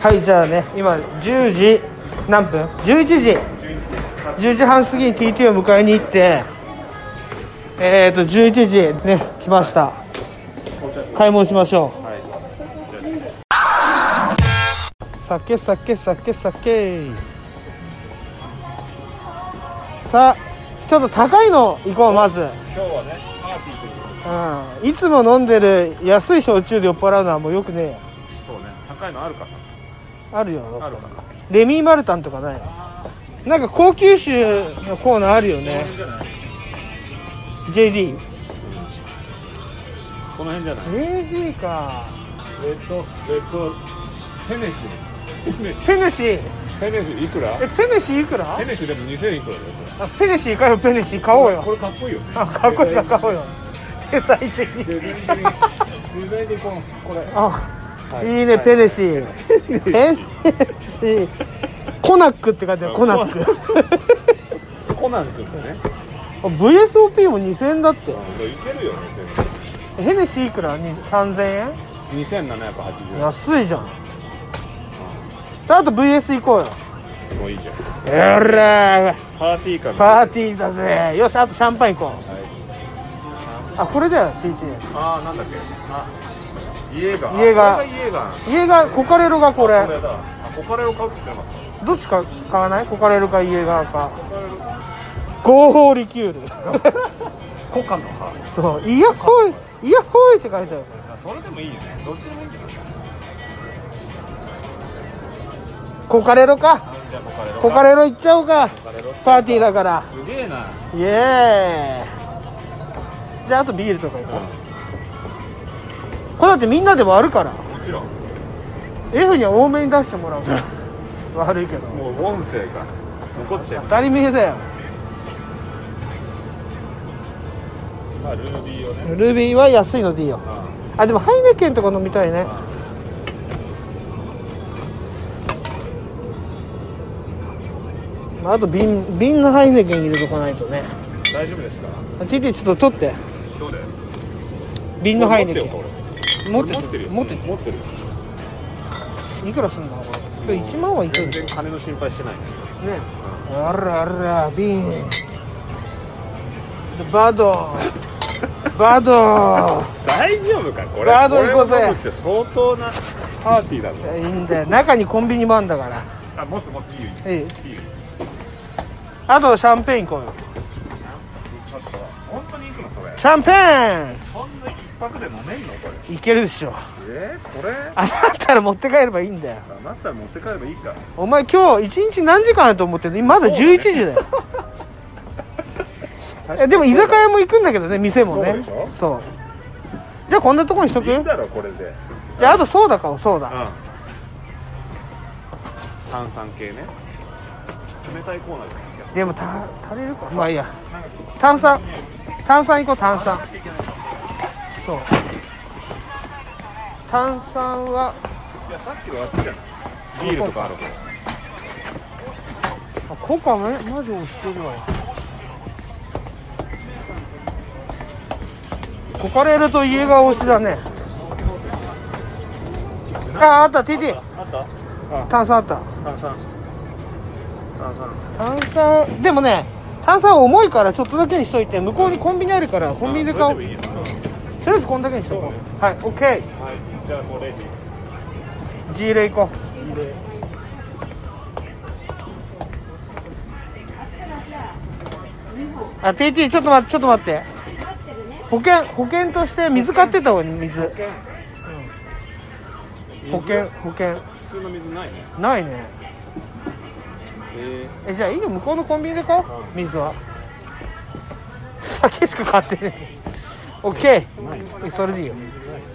はい、じゃあね、今10時何分 ?11 時10時半過ぎに TT を迎えに行って11時ね来ました。買い物しましょう。酒さあちょっと高いの行こう。まず今日はねパーティーという、 いつも飲んでる安い焼酎で酔っ払うのはもうよくねえよ。 そうね、高いのあるかさ。 あるよ。 あるかな。 レミーマルタンとかない。なんか高級酒のコーナーあるよね。JD この辺じゃない。 JD か。 レッドペネシペネシーいくら？ ペネシーいくら？ ペネシでも2000いくらだよ。 ペネシーかよ。ペネシー買おうよ。 これかっこいいよね。 かっこいいから買おうよ。デザイン的にデザインでこれいいね。ペネシーペネシーコナックって書いてある。コナックコナン君だね。 VSOP も2000円だって。 いけるよね。 ヘネシーいくら？3000円。 2780円。 安いじゃん。あと VS 行こうよ。 もういいじゃん。 やらパーティーか。 パーティーだぜ。よし、あとシャンパン行こう。あ、これだよ TT。 あー、なんだっけ。あ、家がコカレロがこれ。 これだ。コカレロ買うって言ってなかった。 どっちか買わない？コカレルか家側か。合法リキュールコカの葉。 そう、イヤホイって書いてある。 それでもいいよね。どっちでもいいんじゃない。 コカレロか。 じゃあコカレロ行っちゃおうか。パーティーだから。 すげえな。 イエーイ。じゃああとビールとか行こう。これだってみんなで割るから。 もちろん F には多めに出してもらう悪いけどもう音声が残っちゃう。 当たり前だよ。 まあルービーをね。 ルービーは安いのでいいよ。でもハイネケンとか飲みたいね。あと瓶のハイネケン入れとかないとね。 大丈夫ですか。 TT ちょっと取って。 どれ？ 瓶のハイネケン持ってる。いくらすんだこれ。1万はいくら。 全然金の心配してないね。 あら瓶バド大丈夫かこれ。 バード行こうぜ。 これを飲むって相当なパーティーだぞ。 いいんだよ。中にコンビニもあんだから。 あ、もっといいよ。 いい。あとシャンペーン行こうよ。 ちょっと本当に行くのそれ。 シャンペーンそんな一泊で飲めんのこれ。 いけるでしょ。 これ余ったら持って帰ればいいんだよ。 余ったら持って帰ればいいか。 お前今日1日何時間あると思ってるの？まだ11時だよでも居酒屋も行くんだけどね、店もね。 そうでしょ。 そう。じゃあこんなとこにしとく？ いいんだろこれで。 じゃああとソーダ買おう。ソーダ、 炭酸系ね。冷たいコーナーじゃない。 でも足りるか。まあいいや。炭酸行こう。炭酸。そう。炭酸は。 いやさっきのあっちじゃない。ビールとかあるから。 コカマジ押してるわよ。コカレルと家が推しだね。あった TT。 あった。 炭酸あった。炭酸でもね、炭酸重いからちょっとだけにしといて。向こうにコンビニあるからコンビニで買おう。とりあえずこんだけにしとこう。はい、OK。はい、 じゃあもうレジ G レ行こう。TT ちょっと待って。保険として水買ってた方がいい。水。保険。 普通の水ないね。 ないね。じゃあいいよ。向こうのコンビニで買おう。水は酒しか買ってねえ。 OK。 それでいいよ。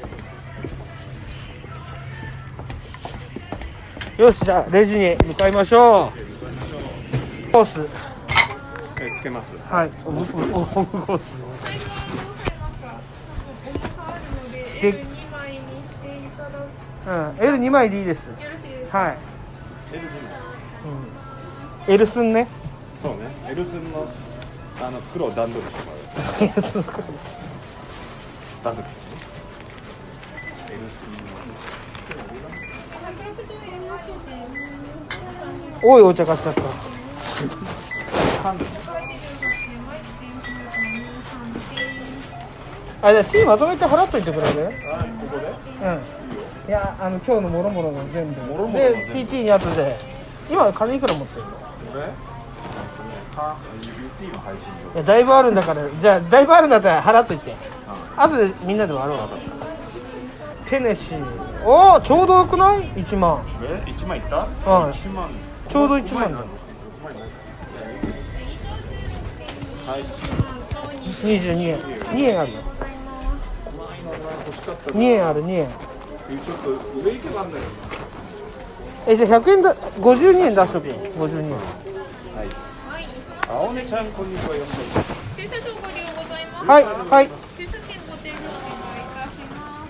よし、じゃあレジに向かいましょう。コースつけます。 はい、オムコースで、L2 枚でいいです。はい。L 寸ね。 そうね。L 寸の黒を段取りしてもらう。 L 寸の黒。 段取り。L 寸の。 多いお茶買っちゃった。あ、じゃあ T まとめて払っといてくれる？ ここで？ うん。いや、今日のもろもろの全部。 もろもろので、 全部 TT に後で。今金いくら持ってるの？ 俺？UT の配信いや、だいぶあるんだから、じゃあだいぶあるんだったら払っといて。後でみんなで割ろう。テネシー。おお、ちょうどよくない？ 1万。 1万いった？ うん。 1万。 ちょうど1万だ。 はい。 22円。2円あるよ。2円ある、2円。 ちょっと上行けばあんだよ。 じゃあ100円だ、52円出しとけよ。52円。 はい。青根ちゃん、こんにちは。よろしく。 駐車場ご利用ございます。 はい、はい。 駐車券ご提供お願いいたします。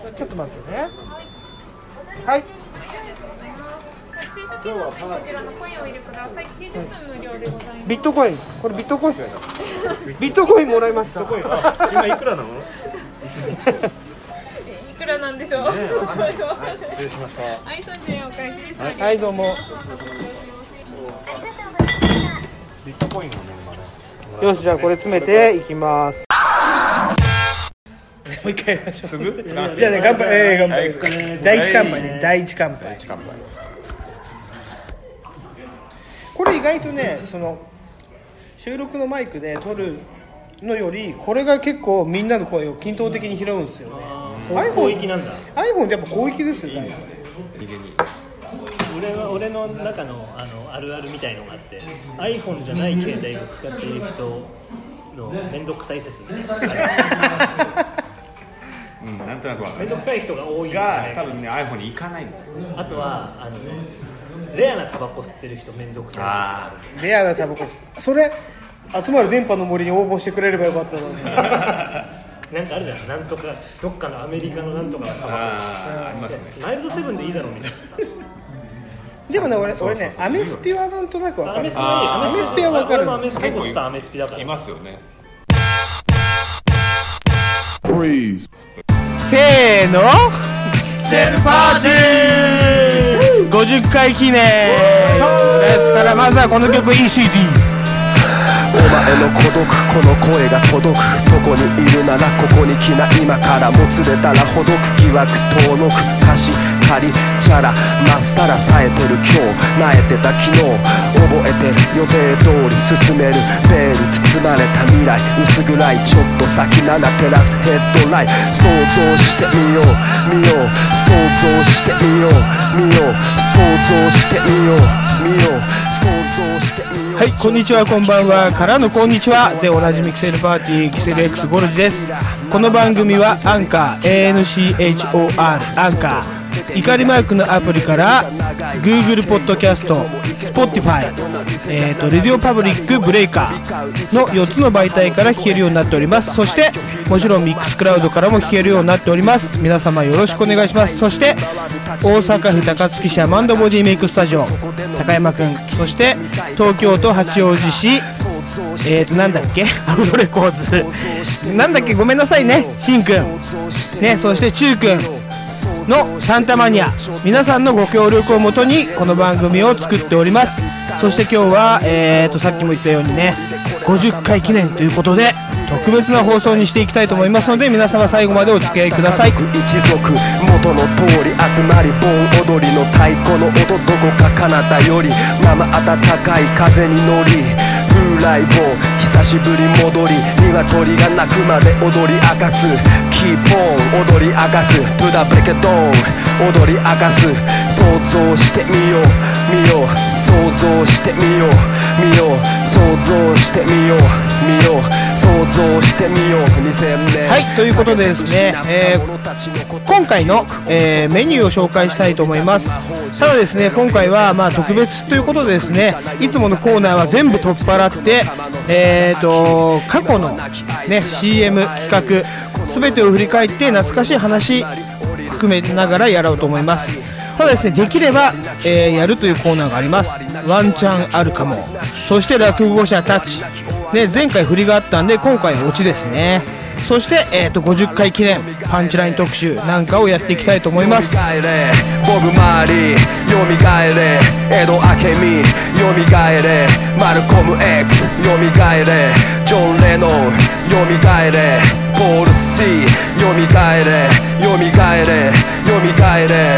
ちょっと待ってね。はい。 駐車券のこちらのコインをお入れください。90分無料でございます。 ビットコイン。これビットコイン。ビットコインもらいました。 今いくらなの？ いくらなんでしょう。 失礼しました。 はい、30円お返しです。 はい、どうも。 ビットコインがね、今ね。 よし、じゃあこれ詰めていきます。もう一回やりましょう。 すぐ？ じゃあね、乾杯。乾杯。第一乾杯ね。第一乾杯。 第一乾杯。 これ意外とね、その収録のマイクで撮るのより、これが結構みんなの声を均等的に拾うんですよね。 広域なんだ。 iPhone ってやっぱ広域ですよね。 俺の中のあるあるみたいのがあって、 iPhone じゃない携帯を使っている人のめんどくさい説みたいなうん、なんとなくわかる。 めんどくさい人が多いが多分ね iPhone に行かないんですよ。 あとはレアなタバコ吸ってる人めんどくさい説がある。 レアなタバコ。それ集まる電波の森に応募してくれればよかったのに。 なんかあるじゃん、なんとかどっかのアメリカのなんとかのタバコありますね。 マイルドセブンでいいだろうみたいな。 でもね、俺ね、アメスピはなんとなくわかる。 アメスピはわかる。 俺もアメスピコスターアメスピだからいますよね。 せーの、セルパーティー50回記念ですから、まずはこの曲 ECD。 お前の孤独、この声が届くどこにいるならここに来な、今からもつれたらほどく疑惑遠のく貸し借りチャラまっさら冴えてる今日、萎えてた昨日覚えてる予定通り進めるベール包まれた未来、薄暗いちょっと先7照らすヘッドライト、想像してみよう見よう想像してみよう見よう想像してみよう見よう想像してみよう。 はい、こんにちは、こんばんはからのこんにちはでおなじみキセルパーティーキセル X ゴルジです。この番組はアンカー ANCHOR アンカー怒りマークのアプリから Google ポッドキャスト Spotify、レディオパブリックブレイカーの4つの媒体から聞けるようになっております。そしてもちろんミックスクラウドからも聞けるようになっております。皆様よろしくお願いします。そして大阪府高槻市アマンドボディメイクスタジオ高山くん、そして東京都八王子市なんだっけアウロレコーズなんだっけごめんなさいね、しんくんね、そしてちゅうくんのサンタマニア、皆さんのご協力をもとにこの番組を作っております。そして今日はさっきも言ったようにね50回記念ということで特別な放送にしていきたいと思いますので、皆様最後までお付き合いください。 一族元の通り集まり盆踊りの太鼓の音どこか彼方より生暖かい風に乗り風来坊久しぶり戻り鶏が鳴くまで踊り明かすキーポン踊り明かす To the break it down 踊り明かす想像してみよう見よう想像してみよう見よう想像してみよう見よう想像してみよう2000年。 はい、ということでですね、今回の、メニューを紹介したいと思います。ただですね、今回は特別ということでですね、いつものコーナーは全部取っ払って過去の、ね、CM 企画全てを振り返って懐かしい話含めながらやろうと思います。ただですね、できれば、やるというコーナーがあります。ワンチャンあるかも。そして落語者たち、ね、前回振りがあったんで今回オチですね。 そして、50回記念パンチライン特集なんかをやっていきたいと思います。 ボブ・マーリーよみがえれ、エド・アケミよみがえれ、マルコム X よみがえれ、ジョン・レノンよみがえれ、ポール・シーよみがえれ、よみがえれ、よみがえれ。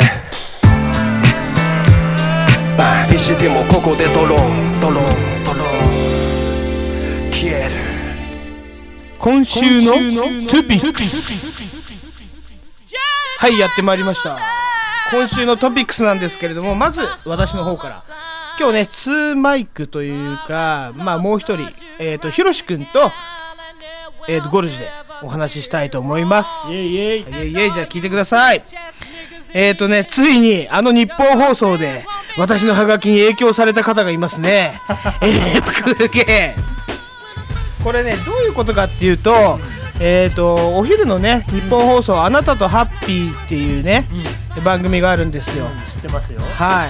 石でもここでドロンドロンドロン消える。 今週のトゥピックス。はい、やってまいりました。今週のトピックスなんですけれども、まず私の方から今日ね2マイクというか、まあもう一人ひろしくんとゴルジでお話ししたいと思います。 イエイイエイイエイイエイ。じゃあ聞いてください。ついに日本放送で私のハガキに影響された方がいますね。これねどういうことかっていうと、お昼のね日本放送、あなたとハッピーっていうね、番組があるんですよ。 知ってますよ。 はい。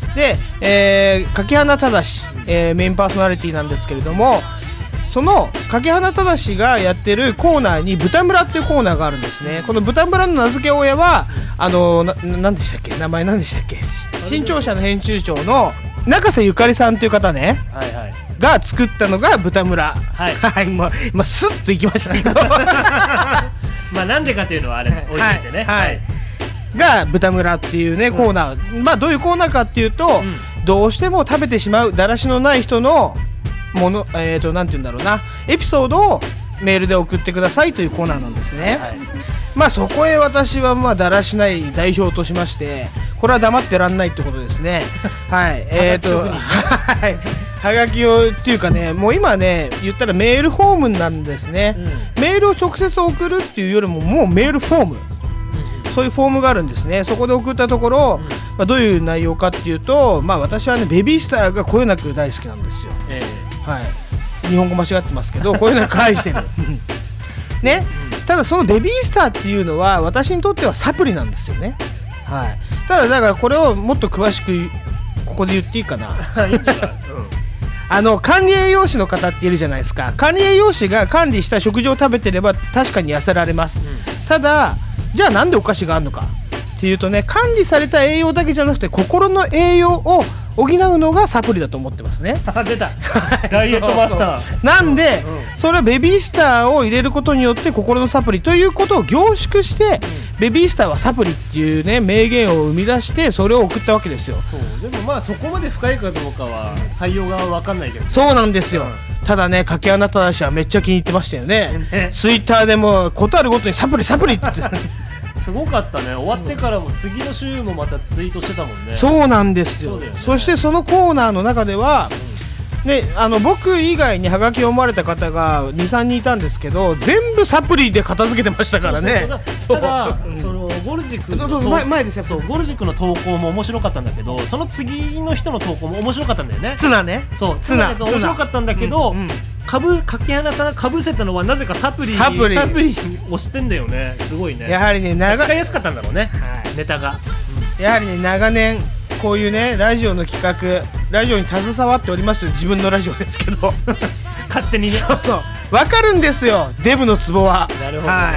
で、柿花忠、メインパーソナリティなんですけれども、その柿花忠がやってるコーナーに豚村っていうコーナーがあるんですね。この豚村の名付け親は何でしたっけ、名前何でしたっけ、新潮社の編集長の中瀬ゆかりさんっていう方ね、 はいはい、 が作ったのが豚村。はい、はい、まあスッといきましたけどまあなんでかっていうのはあれ置いててね、 はい、はい、が豚村っていうね、コーナー、まあどういうコーナーかっていうと、どうしても食べてしまうだらしのない人のもの、なんて言うんだろうな、エピソードをメールで送ってくださいというコーナーなんですね。はい、まあそこへ私はまあだらしない代表としまして、これは黙ってらんないってことですね。はい、はい、はがきをっていうかね、もう今ね言ったらメールフォームなんですね。メールを直接送るっていうよりももうメールフォーム、そういうフォームがあるんですね。そこで送ったところ、まあ、どういう内容かっていうと、まあ私はねベビースターがこよなく大好きなんですよ。はい、日本語間違ってますけどこういうのは返してるね。ただそのベビースターっていうのは私にとってはサプリなんですよね。はい、ただだからこれをもっと詳しくここで言っていいかな。管理栄養士の方っているじゃないですか。管理栄養士が管理した食事を食べてれば確かに痩せられます。ただじゃあなんでお菓子があるのかっていうとね、管理された栄養だけじゃなくて心の栄養を補うのがサプリだと思ってますね。 出たダイエットマスターなんで、それはベビースターを入れることによって心のサプリということを凝縮して、ベビースターはサプリっていうね名言を生み出してそれを送ったわけですよ。 そうでもまあそこまで深いかどうかは採用が分かんないけど、 そうなんですよ。ただね柿花忠はめっちゃ気に入ってましたよね。ツイッターでもことあるごとにサプリサプリって言ってすごかったね。終わってからも次の週もまたツイートしてたもんね。 そうなんですよ。 ね、 そしてそのコーナーの中では、ね、僕以外にハガキを読まれた方が 2,3 人いたんですけど、全部サプリで片付けてましたからね。 ただそのゴルジ君前ですよ。 そうゴルジ君の投稿も面白かったんだけど、その次の人の投稿も面白かったんだよね。 ツナね。 そうツナ面白かったんだけど、柿花さんがかぶせたのはなぜかサプリをしてんだよね。すごいね。 やはりね使いやすかったんだろうね、ネタが。 やはりね長年こういうねラジオの企画、ラジオに携わっておりますよ。自分のラジオですけど勝手にね。 そう分かるんですよ、デブのツボは。 なるほど、ね。はい、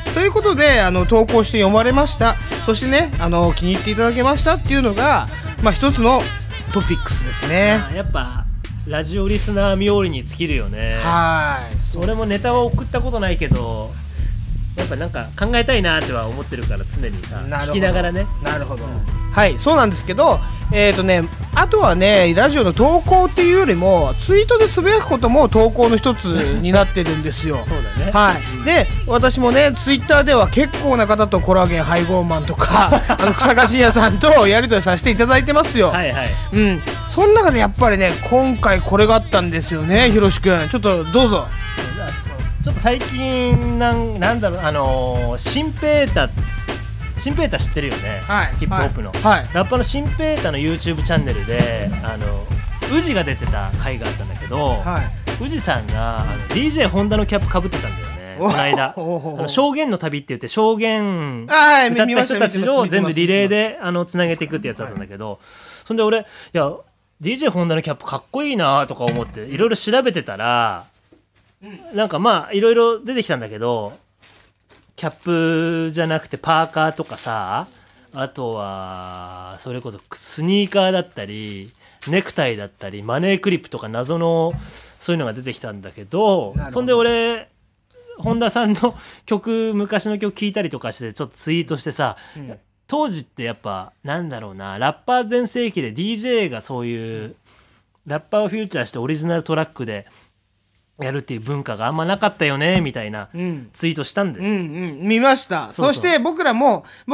ということで投稿して読まれました。そしてね気に入っていただけましたっていうのが、まあ一つのトピックスですね。 やっぱラジオリスナー冥利に尽きるよね。はい。俺もネタは送ったことないけど、やっぱなんか考えたいなっては思ってるから、常にさ聞きながらね。 なるほど、はい、そうなんですけど、あとはねラジオの投稿っていうよりもツイートでつぶやくことも投稿の一つになってるんですよ。 そうだね。 はい、で私もねツイッターでは結構な方とコラーゲン配合マンとか草加信也さんとやり取りさせていただいてますよ。 はいはい。 その中でやっぱりね今回これがあったんですよね。ひろしくんちょっとどうぞ。 ちょっと最近なんだろう、シンペータ知ってるよね、はい、ヒップホップの、はい、ラッパーのシンペータの YouTube チャンネルで宇治が出てた回があったんだけど、はい、宇治さんがDJ ホンダのキャップかぶってたんだよね、この間。証言の旅って言って証言歌った人たちを全部リレーでつなげていくってやつだったんだけど、そんで俺いや DJ ホンダのキャップかっこいいなとか思っていろいろ調べてたら、 なんかまあいろいろ出てきたんだけど、キャップじゃなくてパーカーとかさ、あとはそれこそスニーカーだったりネクタイだったりマネークリップとか謎のそういうのが出てきたんだけど、そんで俺本田さんの曲、昔の曲聴いたりとかしてちょっとツイートしてさ、当時ってやっぱなんだろうな、ラッパー全盛期で DJ がそういうラッパーをフューチャーしてオリジナルトラックでやるっていう文化があんまなかったよねみたいなツイートしたんで、 見ました。そして僕と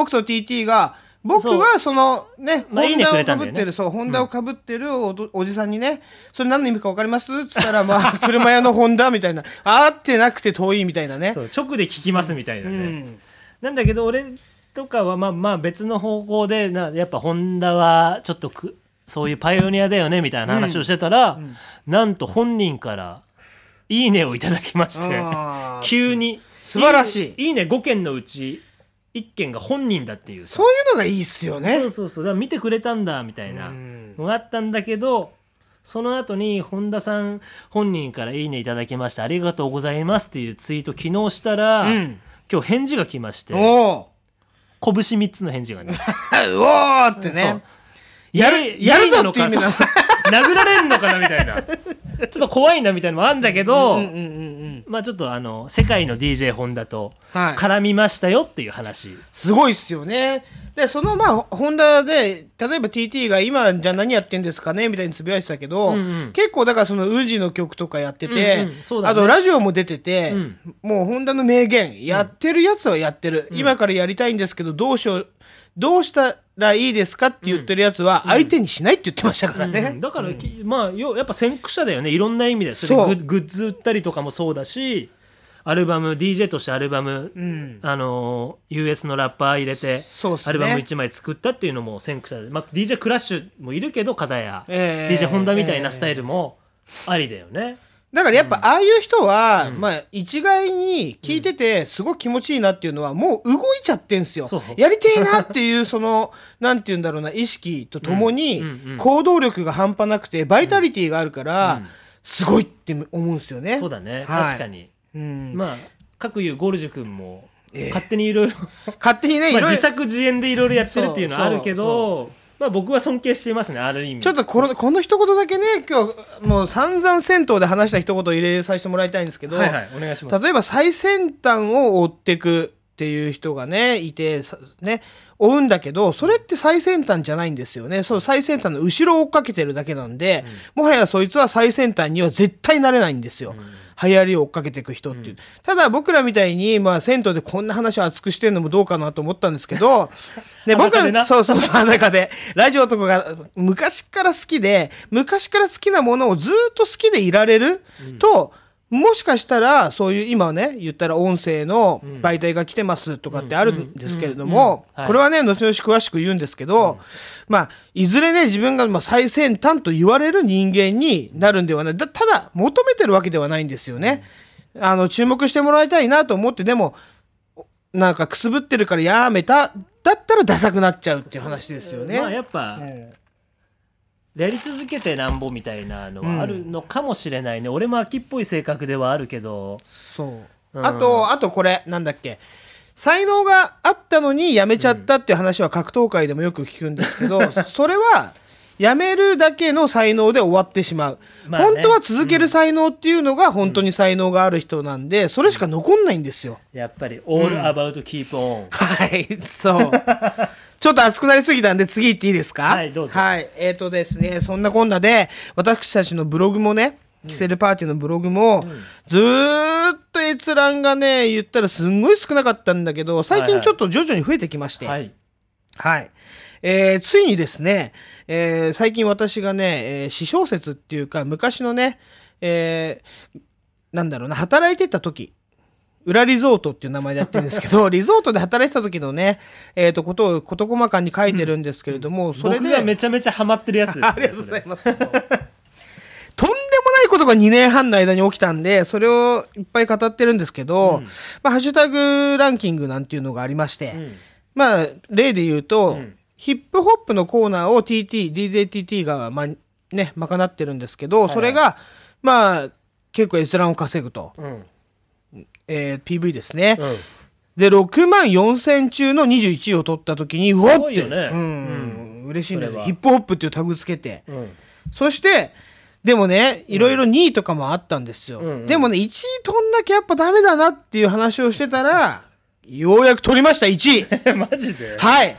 TT が、僕はそのね、ホンダをかぶってる、ホンダをかぶってるおじさんにね、それ何の意味か分かりますっつったら、まあ車屋のホンダみたいな、合ってなくて遠いみたいなね、 そう直で聞きますみたいなね、なんだけど俺とかはまあ別の方向でやっぱホンダはちょっとそういうパイオニアだよねみたいな話をしてたら、なんと本人からいいねをいただきまして、急に素晴らしい。 いいね5件のうち1件が本人だっていう、 そういうのがいいっすよね。 そうだから見てくれたんだみたいなのがあったんだけど、その後に本田さん本人からいいねいただきましたありがとうございますっていうツイート昨日したら、今日返事が来まして、拳3つの返事がねうおーってね、やるぞっていう意味なの殴られんのかなみたいなちょっと怖いなみたいなのもあるんだけど、まあちょっと世界の DJ ホンダと絡みましたよっていう話、 すごいっすよね。でそのまあホンダで例えば TT が今じゃあ何やってんですかねみたいにつぶやいてたけど、結構だからそのウジの曲とかやってて、あとラジオも出てて、もうホンダの名言、やってるやつはやってる、今からやりたいんですけどどうしたらいいですかって言ってるやつは相手にしないって言ってましたからね、 だから、まあやっぱ先駆者だよね、いろんな意味で。それでグッズ売ったりとかもそうだし、アルバム DJ としてアルバム、US のラッパー入れて、アルバム1枚作ったっていうのも先駆者で、まあ、DJ クラッシュもいるけど片や、DJ ホンダみたいなスタイルもありだよね。 だからやっぱああいう人は、まあ一概に聞いててすごく気持ちいいなっていうのはもう動いちゃってんすよ。やりてえなっていうそのなんていうんだろうな意識とともに行動力が半端なくてバイタリティがあるからすごいって思うんすよね。 そうだね、確かに。まあ各いうゴルジュ君も勝手にいろいろ勝手にね、 自作自演でいろいろやってるっていうのはあるけど、まあ僕は尊敬していますね、ある意味。 ちょっとこの一言だけね、今日もう散々銭湯で話した一言入れさせてもらいたいんですけど、 お願いします。 例えば最先端を追っていくっていう人がねいてね、追うんだけどそれって最先端じゃないんですよね。その最先端の後ろを追っかけてるだけなんで、もはやそいつは最先端には絶対なれないんですよ、流行りを追っかけていく人っていう、ただ僕らみたいに、まあ、銭湯でこんな話を熱くしてるのもどうかなと思ったんですけどで僕らそう中でラジオとかが昔から好きで昔から好きなものをずっと好きでいられると、もしかしたらそういう今ね言ったら音声の媒体が来てますとかってあるんですけれども、これはね後々詳しく言うんですけど、まあいずれね自分が最先端と言われる人間になるんではない。ただ求めてるわけではないんですよね。注目してもらいたいなと思って、でもなんかくすぶってるからやめただったらダサくなっちゃうっていう話ですよね。 まあやっぱ、やり続けてなんぼみたいなのはあるのかもしれないね、俺も秋っぽい性格ではあるけど。 そう、あとこれなんだっけ、才能があったのにやめちゃったっていう話は格闘界でもよく聞くんですけど、それはやめるだけの才能で終わってしまう、本当は続ける才能っていうのが本当に才能がある人なんで、それしか残んないんですよ、 やっぱり all about keep on、 はいそうちょっと熱くなりすぎたんで次行っていいですか。 はいどうぞ。 はいですね、そんなこんなで私たちのブログもね、キセルパーティーのブログも、ずーっと閲覧がね言ったらすんごい少なかったんだけど、最近ちょっと徐々に増えてきまして、ついにですね、最近私がね、私小説っていうか昔のね、なんだろうな、働いてた時裏リゾートっていう名前でやってるんですけどリゾートで働いてた時のね、ことを事細かに書いてるんですけれども、それで僕がめちゃめちゃハマってるやつですねありがとうございますとんでもないことが2年半の間に起きたんで、それをいっぱい語ってるんですけど、まあ、ハッシュタグランキングなんていうのがありまして、まあ例で言うと、ヒップホップのコーナーを DJTT が賄ってるんですけど、それがまあ結構閲覧を稼ぐと、PV ですね、で6万4000中の21位を取った時にうわって、嬉しいんです。ヒップホップっていうタグつけて、そしてでもねいろいろ2位とかもあったんですよ、でもね1位取んなきゃやっぱダメだなっていう話をしてたらようやく取りました1位マジで。 はい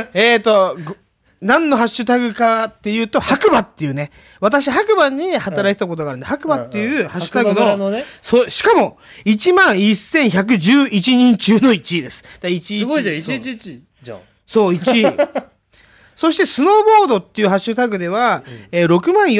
何のハッシュタグかっていうと白馬っていうね、私白馬に働いてたことがあるんで、白馬っていうハッシュタグの、しかも1万1111人中の1位です。 すごいじゃん、111じゃん。 そう1位そしてスノーボードっていうハッシュタグでは、6万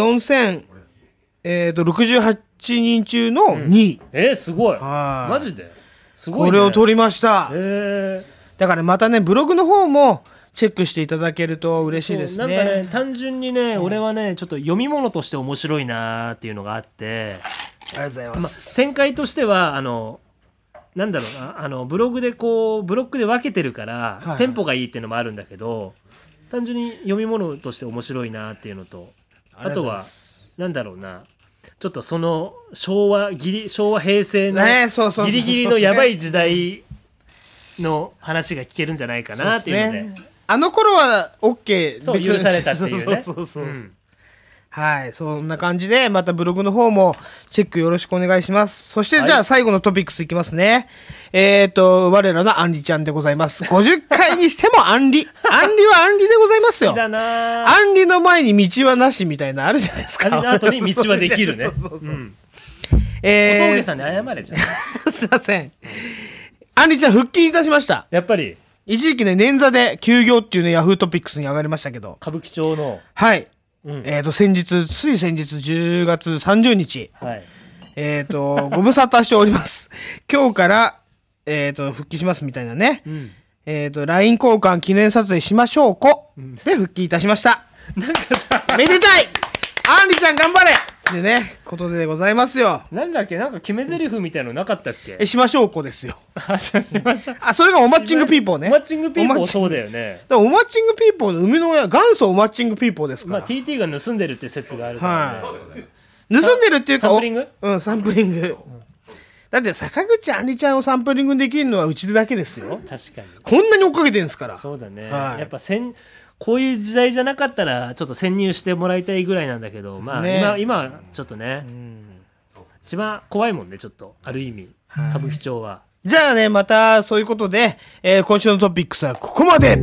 4068人中の2位、 すごい。マジですごいね。 これを取りました。だからまたねブログの方もチェックしていただけると嬉しいですね。 なんかね単純にね、俺はねちょっと読み物として面白いなっていうのがあって、 ありがとうございます。 展開としてはなんだろうな、ブログでこうブロックで分けてるから、テンポがいいっていうのもあるんだけど、単純に読み物として面白いなっていうのと、あとはなんだろうな、ちょっとその昭和平成のギリギリのやばい時代の話が聞けるんじゃないかなっていうので、あの頃は OK そう許されたっていうね。 はい、そんな感じでまたブログの方もチェックよろしくお願いします。そしてじゃあ最後のトピックスいきますね。我らのアンリちゃんでございます。50回にしてもアンリはアンリでございますよ。 好きだな。 アンリの前に道はなしみたいなあるじゃないですか。 アンリの後に道はできるね。小峠さんに謝れじゃん。 すいません。アンリちゃん復帰いたしました。 やっぱり一時期ね捻挫で休業っていうねヤフートピックスに上がりましたけど、 歌舞伎町のはいつい先日10月30日、ご無沙汰しております。今日から復帰しますみたいなね、LINE 交換記念撮影しましょうで復帰いたしました。 なんかさめでたいアンリちゃん頑張れでねことでございますよ。 なんだっけ、なんか決め台詞みたいのなかったっけ。 しましょうですよ。それがおマッチングピーポーね。 おマッチングピーポーそうだよね。 おマッチングピーポーの生みの親元祖おマッチングピーポーですから。 TT が盗んでるって説があるからね。 盗んでるっていうかサンプリング？ サンプリング。だって坂口あんりちゃんをサンプリングできるのはうちでだけですよ。 確かに。 こんなに追っかけてるんですから。 そうだね。やっぱこういう時代じゃなかったらちょっと潜入してもらいたいぐらいなんだけど、今はちょっとね、一番怖いもんね、ちょっとある意味歌舞伎町は。 じゃあねまたそういうことで、今週のトピックスはここまで。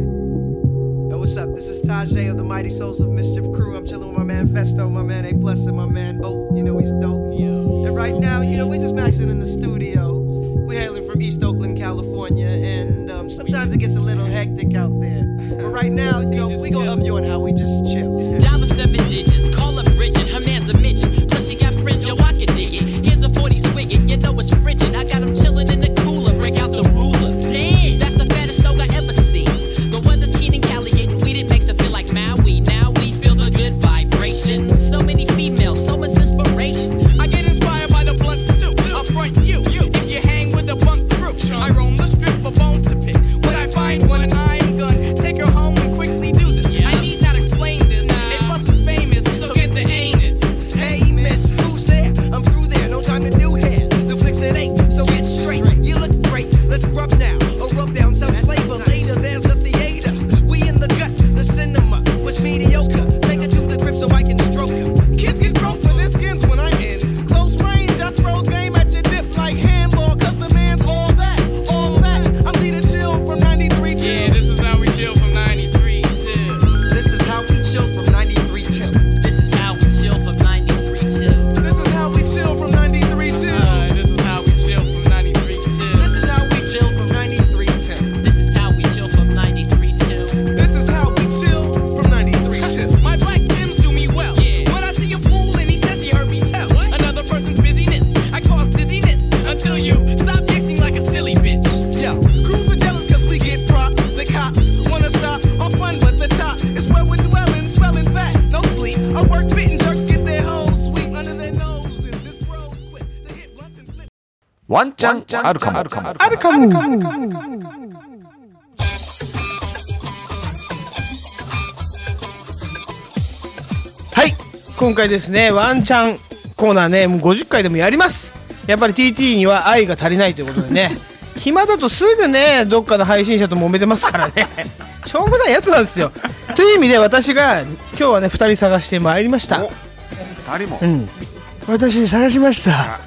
Yo, what's up? This is Tajay of the Mighty Souls of Mischief crew. I'm chilling with my man Festo, my man A+, and my man Oak. You know he's dope. And right now, we're just maxing in the studio. We're hailing from East Oakland, California, and sometimes it gets a little hectic out there. But right now, we gonna up you on how we just chill. Dial 7 digits, call up Bridget, her man's a midget. Plus she got fringe, yo, I can dig it. Here's a 40 swigget, you know it's frigid. I got him chilling in the cooler, break out the ruler. Damn, that's the fattest dog I ever seen. The weather's keen in Cali, getting weeded makes it feel like Maui. Now we feel the good vibrations. So many females, so much inspiration. I get inspired by the blunts too. I'll front you. If you hang with the bunk crew, I roam the strip for bones to pick. When I find one and I'm gonna take her home and quickly do this. I need not explain this. A+ is famous, so get the anus. Hey miss, who's there? I'm through there, no time to do hair. The flicks at 8, so get straight. You look great, let's grub now. Or rub down some flavor later. There's the theater. We in the gut, the cinema was mediocre. Take her to the crib so I can stroke her. Kids get broke for their skins when I'm in close range. I throws game at your dip like handball, cause the man's all that. I'm leading chill from 93 till. Yeah, this is how we chill from 93 till. This is how we chill from 93 till. This is how we chill from 93 till. This is how we chill from 93 till. This is how we chill from 93 till. This is how we chill from 93 till. This is how we chill from 93 till. This is how we chill from 93 till. My black Tims do me well. Yeah. When I see a fool and he says he heard me tell another person's busyness, I cause dizziness until you stop acting like a silly bitch. Yo, crews are jealous cause we get props. The cops wanna stop our fun, but the top is where we're dwelling, swelling fat, no sleep. Our work fitting jerks get their hoes sweep under their noses. This bro's quick to hit blunts and flip. ワンチャンあるかも。 あるかも。はい今回ですねワンチャンコーナーね、もう50回でもやります。やっぱり TT には愛が足りないということでね暇だとすぐねどっかの配信者と揉めてますからねしょうもないやつなんですよという意味で私が今日はね2人探してまいりました。 2人も、 私探しました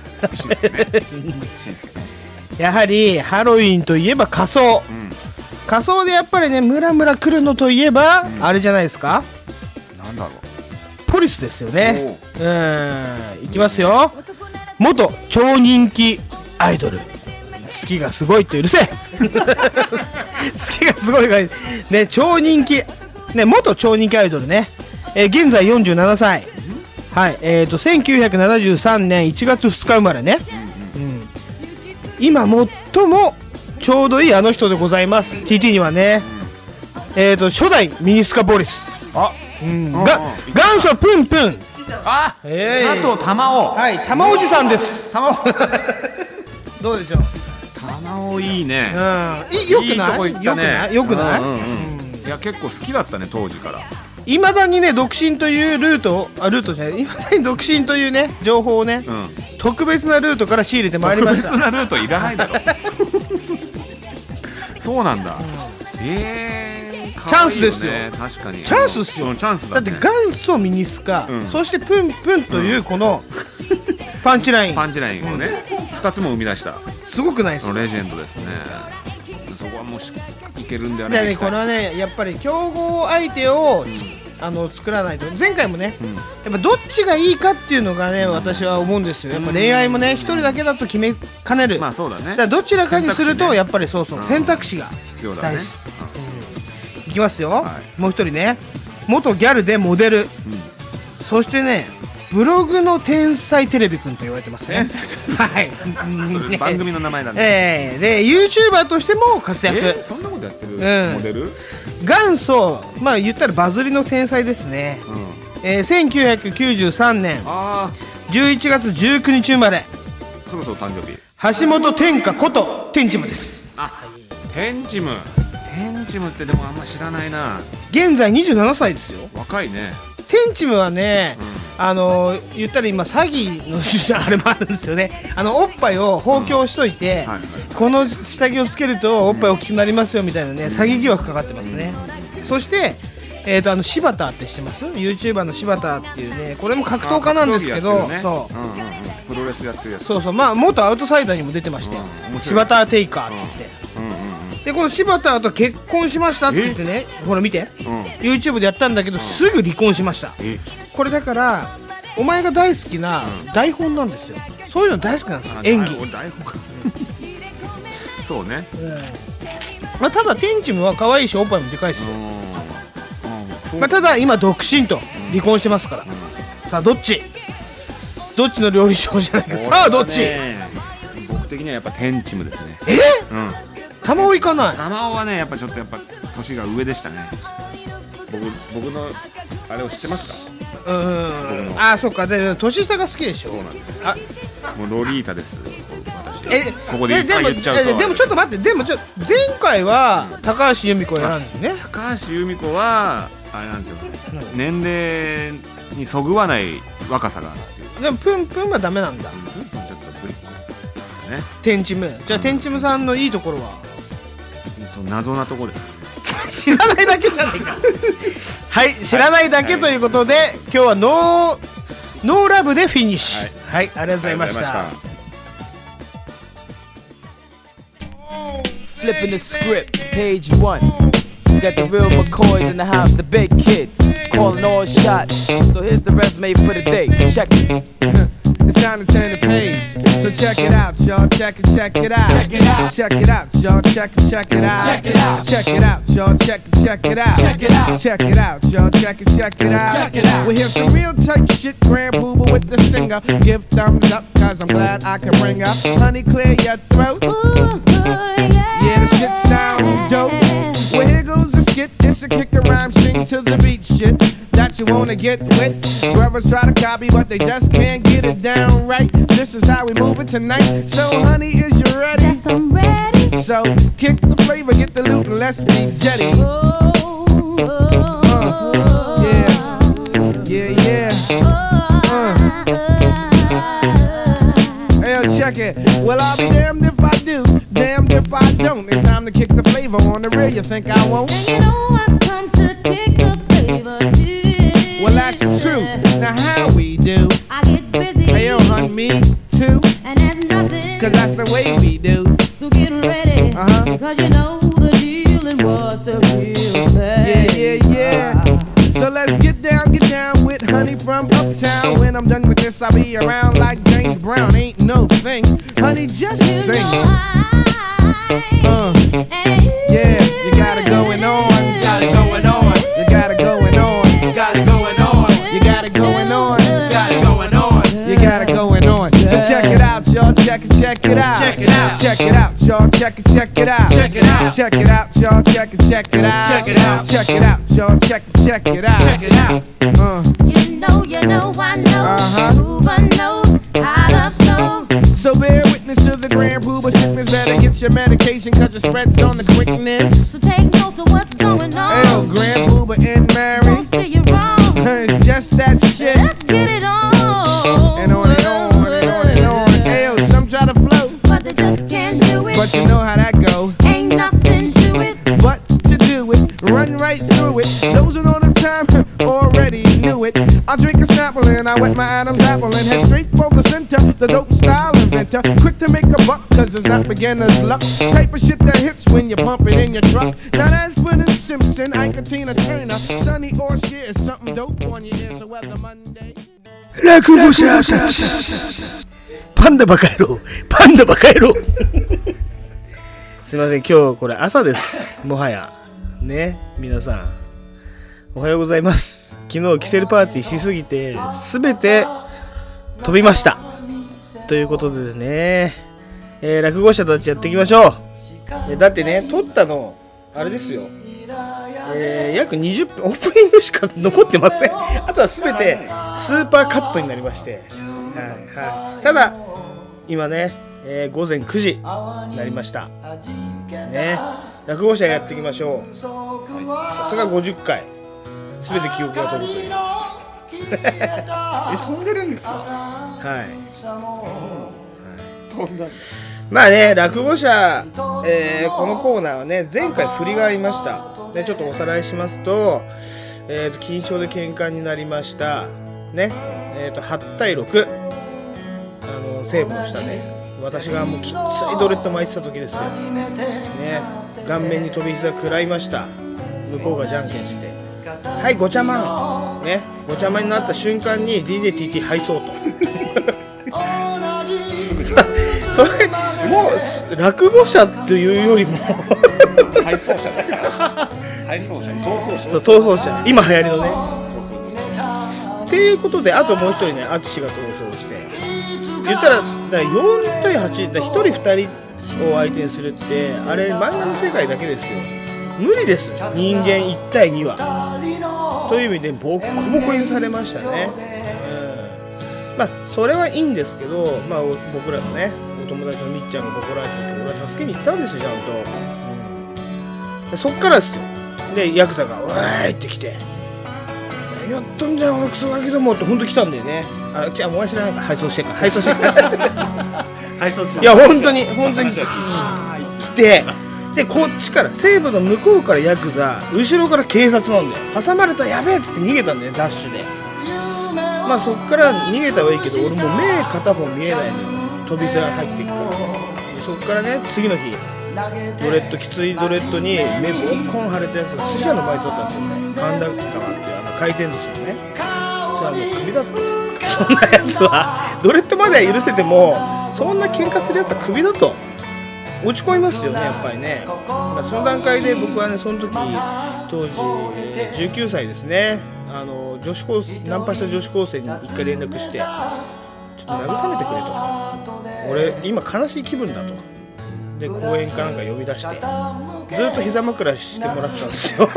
やはりハロウィンといえば仮装、仮装でやっぱりねムラムラ来るのといえば、あれじゃないですか。 なんだろう、 ポリスですよね。いきますよ。元超人気アイドル、好きがすごいってうるせえ好きがすごいがね、超人気ね、元超人気アイドルね、現在47歳、はい、1973年1月2日生まれね、今最もちょうどいいあの人でございます。 TT にはね、初代ミニスカポリス、元祖プンプン、 佐藤玉緒、 はい、玉おじさんです。 玉緒どうでしょう。 玉緒いいね、 よくない、よくない、 いや結構好きだったね当時から。 いまだにね独身というルートじゃない、いまだに独身というね情報をね、特別なルートから仕入れてまいりました。 特別なルートいらないだろそうなんだ、 チャンスですよ。 確かにチャンスっすよ、 チャンスだね。 だって元祖ミニスカ、そしてプンプンというこのパンチラインをね、2つも生み出したすごくないですか。 レジェンドですね。そこはもういけるんではないですか。 これはねやっぱり競合相手を、作らないと。前回もね、やっぱどっちがいいかっていうのがね、私は思うんですよ。やっぱ恋愛もね、一人だけだと決めかねる。 まあそうだね。 だからどちらかにするとやっぱりそう選択肢が必要だね。 いきますよ、もう一人ね、元ギャルでモデル、そしてねブログの天才テレビくんと言われてますね。はい、 それ番組の名前なんで。 で YouTuber としても活躍。 そんなことやってるモデル？ 元祖、まあ言ったらバズりの天才ですね。1993年11月19日生まれ。 そろそろ誕生日。 橋本天下ことテンチムです。 テンチムってでもあんま知らないな。 現在27歳ですよ。 若いね。 テンチムはね、言ったら今詐欺のあれもあるんですよね。おっぱいを放狂しといて、この下着をつけるとおっぱい大きくなりますよみたいなね、詐欺疑惑かかってますね。そして柴田って知ってます？ YouTuber の柴田っていうね、これも格闘家なんですけど、そうプロレスやってるやつ。 そうまあ元アウトサイダーにも出てまして、柴田テイカーっつって。でこの柴田と結婚しましたって言ってね、ほら見て、YouTube でやったんだけど、すぐ離婚しました。これだからお前が大好きな台本なんですよ。そういうの大好きなんですよ、演技。 そうね。 まあただテンチムは可愛いしおっぱいもでかいですよ。まあただ今独身と離婚してますから。さあどっちの料理賞じゃないか。さあどっち？ 僕的にはやっぱテンチムですね。 玉緒行かない。 玉緒はねやっぱちょっと年が上でしたね。僕のあれを知ってますか？ そっか。で年下が好きでしょ。 そうなんです。もうロリータです。私。ここで言っちゃうと。 でもちょっと待って、前回は高橋由美子を選んだよね。 高橋由美子はあれなんですよ。年齢にそぐわない若さがあるっていう。 でもプンプンはダメなんだ。 プンプンちょっとブリックね。 テンチム。じゃあテンチムさんのいいところは？ 謎なところです。 知らないだけじゃないかはい、知らないだけということで、今日はノーラブでフィニッシュ。はい、ありがとうございました。 Flipping the script, page 1. Got the real McCoys in the house, the big kids, calling all shots. So here's the resume for the day. Check it. It's time to turn the page. So check it out, y'all. Check it out. Check it out, y'all. Check it out. Check it out, y'all. Check it out. Check it out, y'all. Check it out. We hear some real type shit. Grand Pooba with the singer. Give thumbs up, cause I'm glad I can bring up. Honey, clear your throat. Yeah, the shit sound dope. Well, here goes the skit. It's a kick a rhyme, sing to the beat shit that you wanna get with. Brothers try to copy, but they just can't get it down right. This is how we move it tonight. So, honey, is you ready? Yes, I'm ready. So, kick the flavor, get the loot, and let's be jetty. Yeah. Well, I'll be damned if I do, damned if I don't. It's time to kick the flavor on the real. You think I won't? And you know I come to kick the flavor too. Well, that's true. Now how we do? I get busy. Hey, yo, hun, me too. And there's nothing. Cause that's the way we do. So get ready. Cause you know the dealing was the real thing. Yeah. So let's get down with Honey from Uptown. When I'm done with this, I'll be around like James Brown. Ain't no thing. Honey, just sing. Yeah, you got it going on. You got it going on. You got it going on. You got it going on. You got it going on. You got it going on. You got it going on. So check it out, y'all. Check it out. Check it out. Check it out, y'all. Check it out. Check it out. Check it out, y'all. Check it out. Check it out. Check it out, y'all. Check it out. Check it out. You know, I know. Pooba knows how to flow. So bear witness to the grand Pooba sickness. Better get your medication cause it spreads on the quickness. So take notes of what's going on. Hey, grand Pooba and Mary. Don't steer you wrong. It's just that shit. Let's get it on. And on and on and on and on. Hey, yo, some try to flow, but they just can't do it. But you know how that go. Ain't nothing to it but to do it. Run right through it. Those who know the time already knew it. I drink a Snapple and I wet my Adam's apple and head straight for the center. The dope style inventor, quick to make a buck, cause it's not beginner's luck. Type of shit that hits when you pump it in your truck. Now that's for the Simpson, Ike and Tina Turner. Sunny or shit is something dope on your ear. So whether Monday. 落語者たちパンダバカ野郎パンダバカ野郎すいません、今日これ朝です。もはやね、皆さんおはようございます。昨日キセルパーティーしすぎて全て飛びましたということでですね、落語者たちやっていきましょう。だってね、撮ったのあれですよ、約20分オープニングしか残ってません。あとは全てスーパーカットになりまして、ただ今ね、午前9時になりましたね。落語者やっていきましょう。さすが50回全て記憶が飛ぶという飛んでるんですか？ はい、 飛んだ。 まあね、落語者、このコーナーはね、前回振りがありました。でちょっとおさらいしますと、金賞で喧嘩になりましたね。8対6、西武の下で私がもうきついドレッド巻いてた時ですよね。顔面に飛び膝食らいました。向こうがじゃんけんしてはいごちゃまんね、ごちゃまんになった瞬間に DJTT 敗走とそれもう落語者というよりも敗走者だ敗走者、 逃走者、今流行りのねっていうことで、あともう一人ね、アツシが逃走して言ったら4対8だ、1人2人を相手にするってあれ漫画の世界だけですよ。無理です、人間1対2はという意味でボッコボコにされましたね。まあそれはいいんですけど、まあ僕らのねお友達のみっちゃんがボコられた時俺は助けに行ったんですよ、ちゃんと。そっからですよ。でヤクザが「おーい!」って来て「やっとんじゃん俺クソガキども」ってほんと来たんだよね。じゃあお前知らないか、配送してから配送中いや本当に来て、でこっちから西部の向こうからヤクザ、後ろから警察なんだよ。挟まれたやべえって逃げたんだよ、ダッシュで。まあそっから逃げたはいいけど、俺もう目片方見えないのよ、飛び皿入ってきたから。そっからね、次の日ドレッド、きついドレッドに目ボッコン腫れたやつが寿司屋のバイトだったんですよね。神田川っていう回転寿司をね。そしたらもうクビだった。そんなやつはドレッドまでは許せても、そんな喧嘩するやつはクビだと落ち込みますよね、やっぱりね。まあ、その段階で僕はね、その時当時19歳ですね。女子高生、ナンパした女子高生に一回連絡して、ちょっと慰めてくれと、俺今悲しい気分だと。で公園かなんか呼び出してずっと膝枕してもらってたんですよ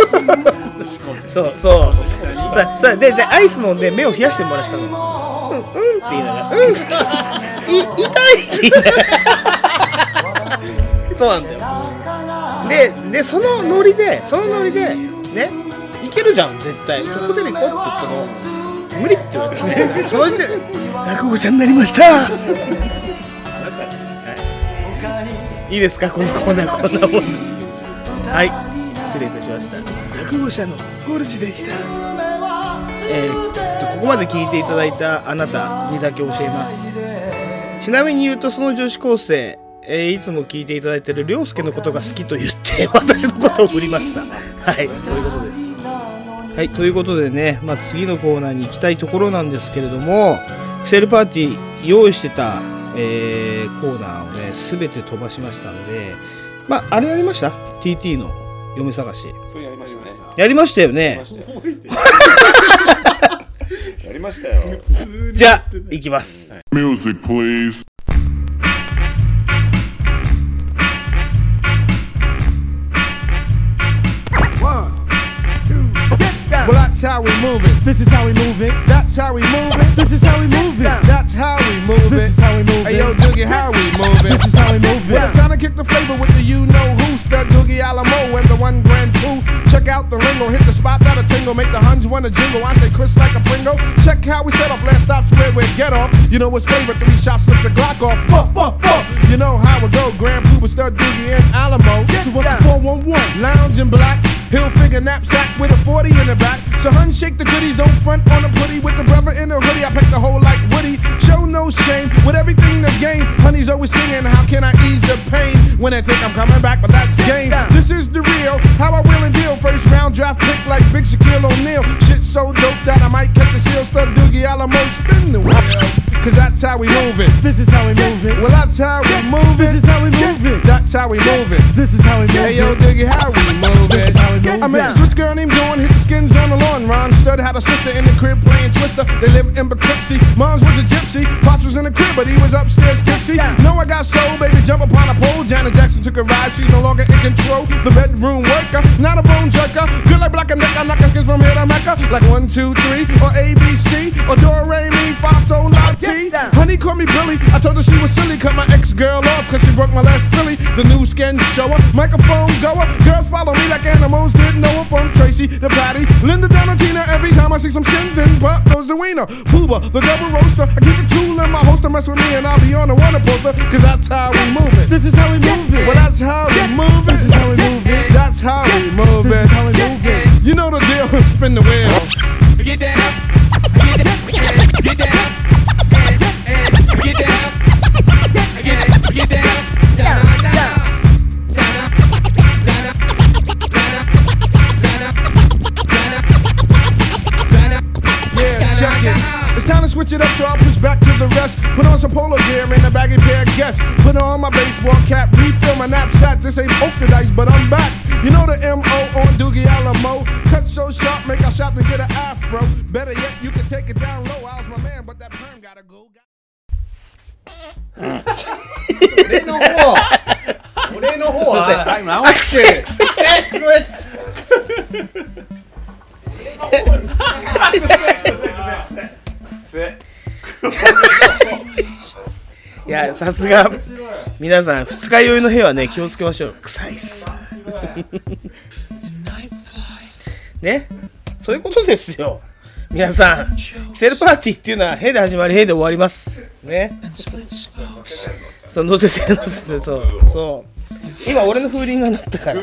そうでアイス飲んで目を冷やしてもらってたの。うんって言いながら痛いって言いながらそうなんだよ。でそのノリでね、いけるじゃん絶対。ここでねこうって言ったの無理って言われてねその時点で落語ちゃんになりましたいいですか、このコーナーこんなもんです。はい、失礼いたしました。落語者のゴルジでした。ここまで聞いていただいたあなたにだけ教えます。ちなみに言うと、その女子高生、いつも聞いていただいている涼介のことが好きと言って私のことを振りました。はい、そういうことです。はい、ということでね、次のコーナーに行きたいところなんですけれども、キセルパーティー用意してた、コーナーをね全て飛ばしましたんで、あれやりました？ TT の嫁探し。 それやりましたね。 やりましたよね。 やりましたよ。 じゃあ行きます。 Music please。 Well, that's how we move it. This is how we move it. That's how we move it. This is how we move it. That's how we move it. This is how we move it. Hey yo, Doogie, how we move it. This is how we move it. Well, it's time to kick the flavor with the you-know-who. Stud Doogie Alamo and the one grand coup. Check out the lingo, hit the spot that'll tingle, make the Huns wanna jingle. I say Chris like a Pringle. Check how we set off, last stop's where we get off. You know what's flavor, 3 shots, slip the Glock off. You know how it go, Grand Pooh, Stud Doogie and Alamo. So what's the 411? Lounge in black, hill figure knapsack with a 40 in the back. So hun shake the goodies, don't front on the putty with the brother in the hoodie. I pack the whole like Woody, show no shame with everything to gain. Honey's always singing, how can I ease the pain when they think I'm coming back, but that's game. This is the real, how I will and deal. First round draft pick like Big Shaquille O'Neal. Shit so dope that I might catch a seal. Stud Doogie Alamo, spin the wheel, cause that's how we move it. This is how we move it. Well, that's how we move it. This is how we move it. That's how we move it. This is how we move it. Hey yo, Doogie, how we move it. I met a switch girl named Dawn, hit the skins on the lawn. Ron Stud had a sister in the crib playing Twister. They lived in Poughkeepsie. Mom's was a gypsy. Pops was in the crib, but he was upstairs tipsy. No, I got soul, baby, jump upon a pole. Janet Jackson took a ride, she's no longer in control. The bedroom worker, not a bone jerker. Good like Black and Decker, knocking skins from here to Mecca. Like 1, 2, 3, or ABC, or Do Re Mi Fa Sol La Ti. Honey called me Billy. I told her she was silly, cut my ex-girl off, cause she broke my last Philly. The new skin shower, microphone goer. Girls follow me like animals did Noah from Tracy to Patty. Linda down to Tina, every time I see some skin, then pop goes the wiener. Pooba, the double roaster. I keep a tool in my holster, mess with me and I'll be on the Warner poster, cause that's how we move it. This is how we move it. Well, that's how we move it. This is how we move it. That's how we move it. This is how we move it. You know the deal, spin the wheel. Get down, get down, get down, get down, get down, down, down. It's time to switch it up, so I'll push back to the rest. Put on some polo gear and a baggy pair of guests. Put on my baseball cap, refill my knapsack. This ain't poke the dice, but I'm back. You know the M.O. on Doogie Alamo. Cut so sharp, make our shop to get an afro. Better yet, you can take it down low. I was my man, but that perm gotta go. 俺の方は直していや、さすが皆さん、二日酔いの日はね気をつけましょう。臭いっすね、そういうことですよ。皆さん、キセルパーティーっていうのは「へ」で始まり「へ」で終わりますね。そう乗せてそう今俺の風鈴が鳴ったから。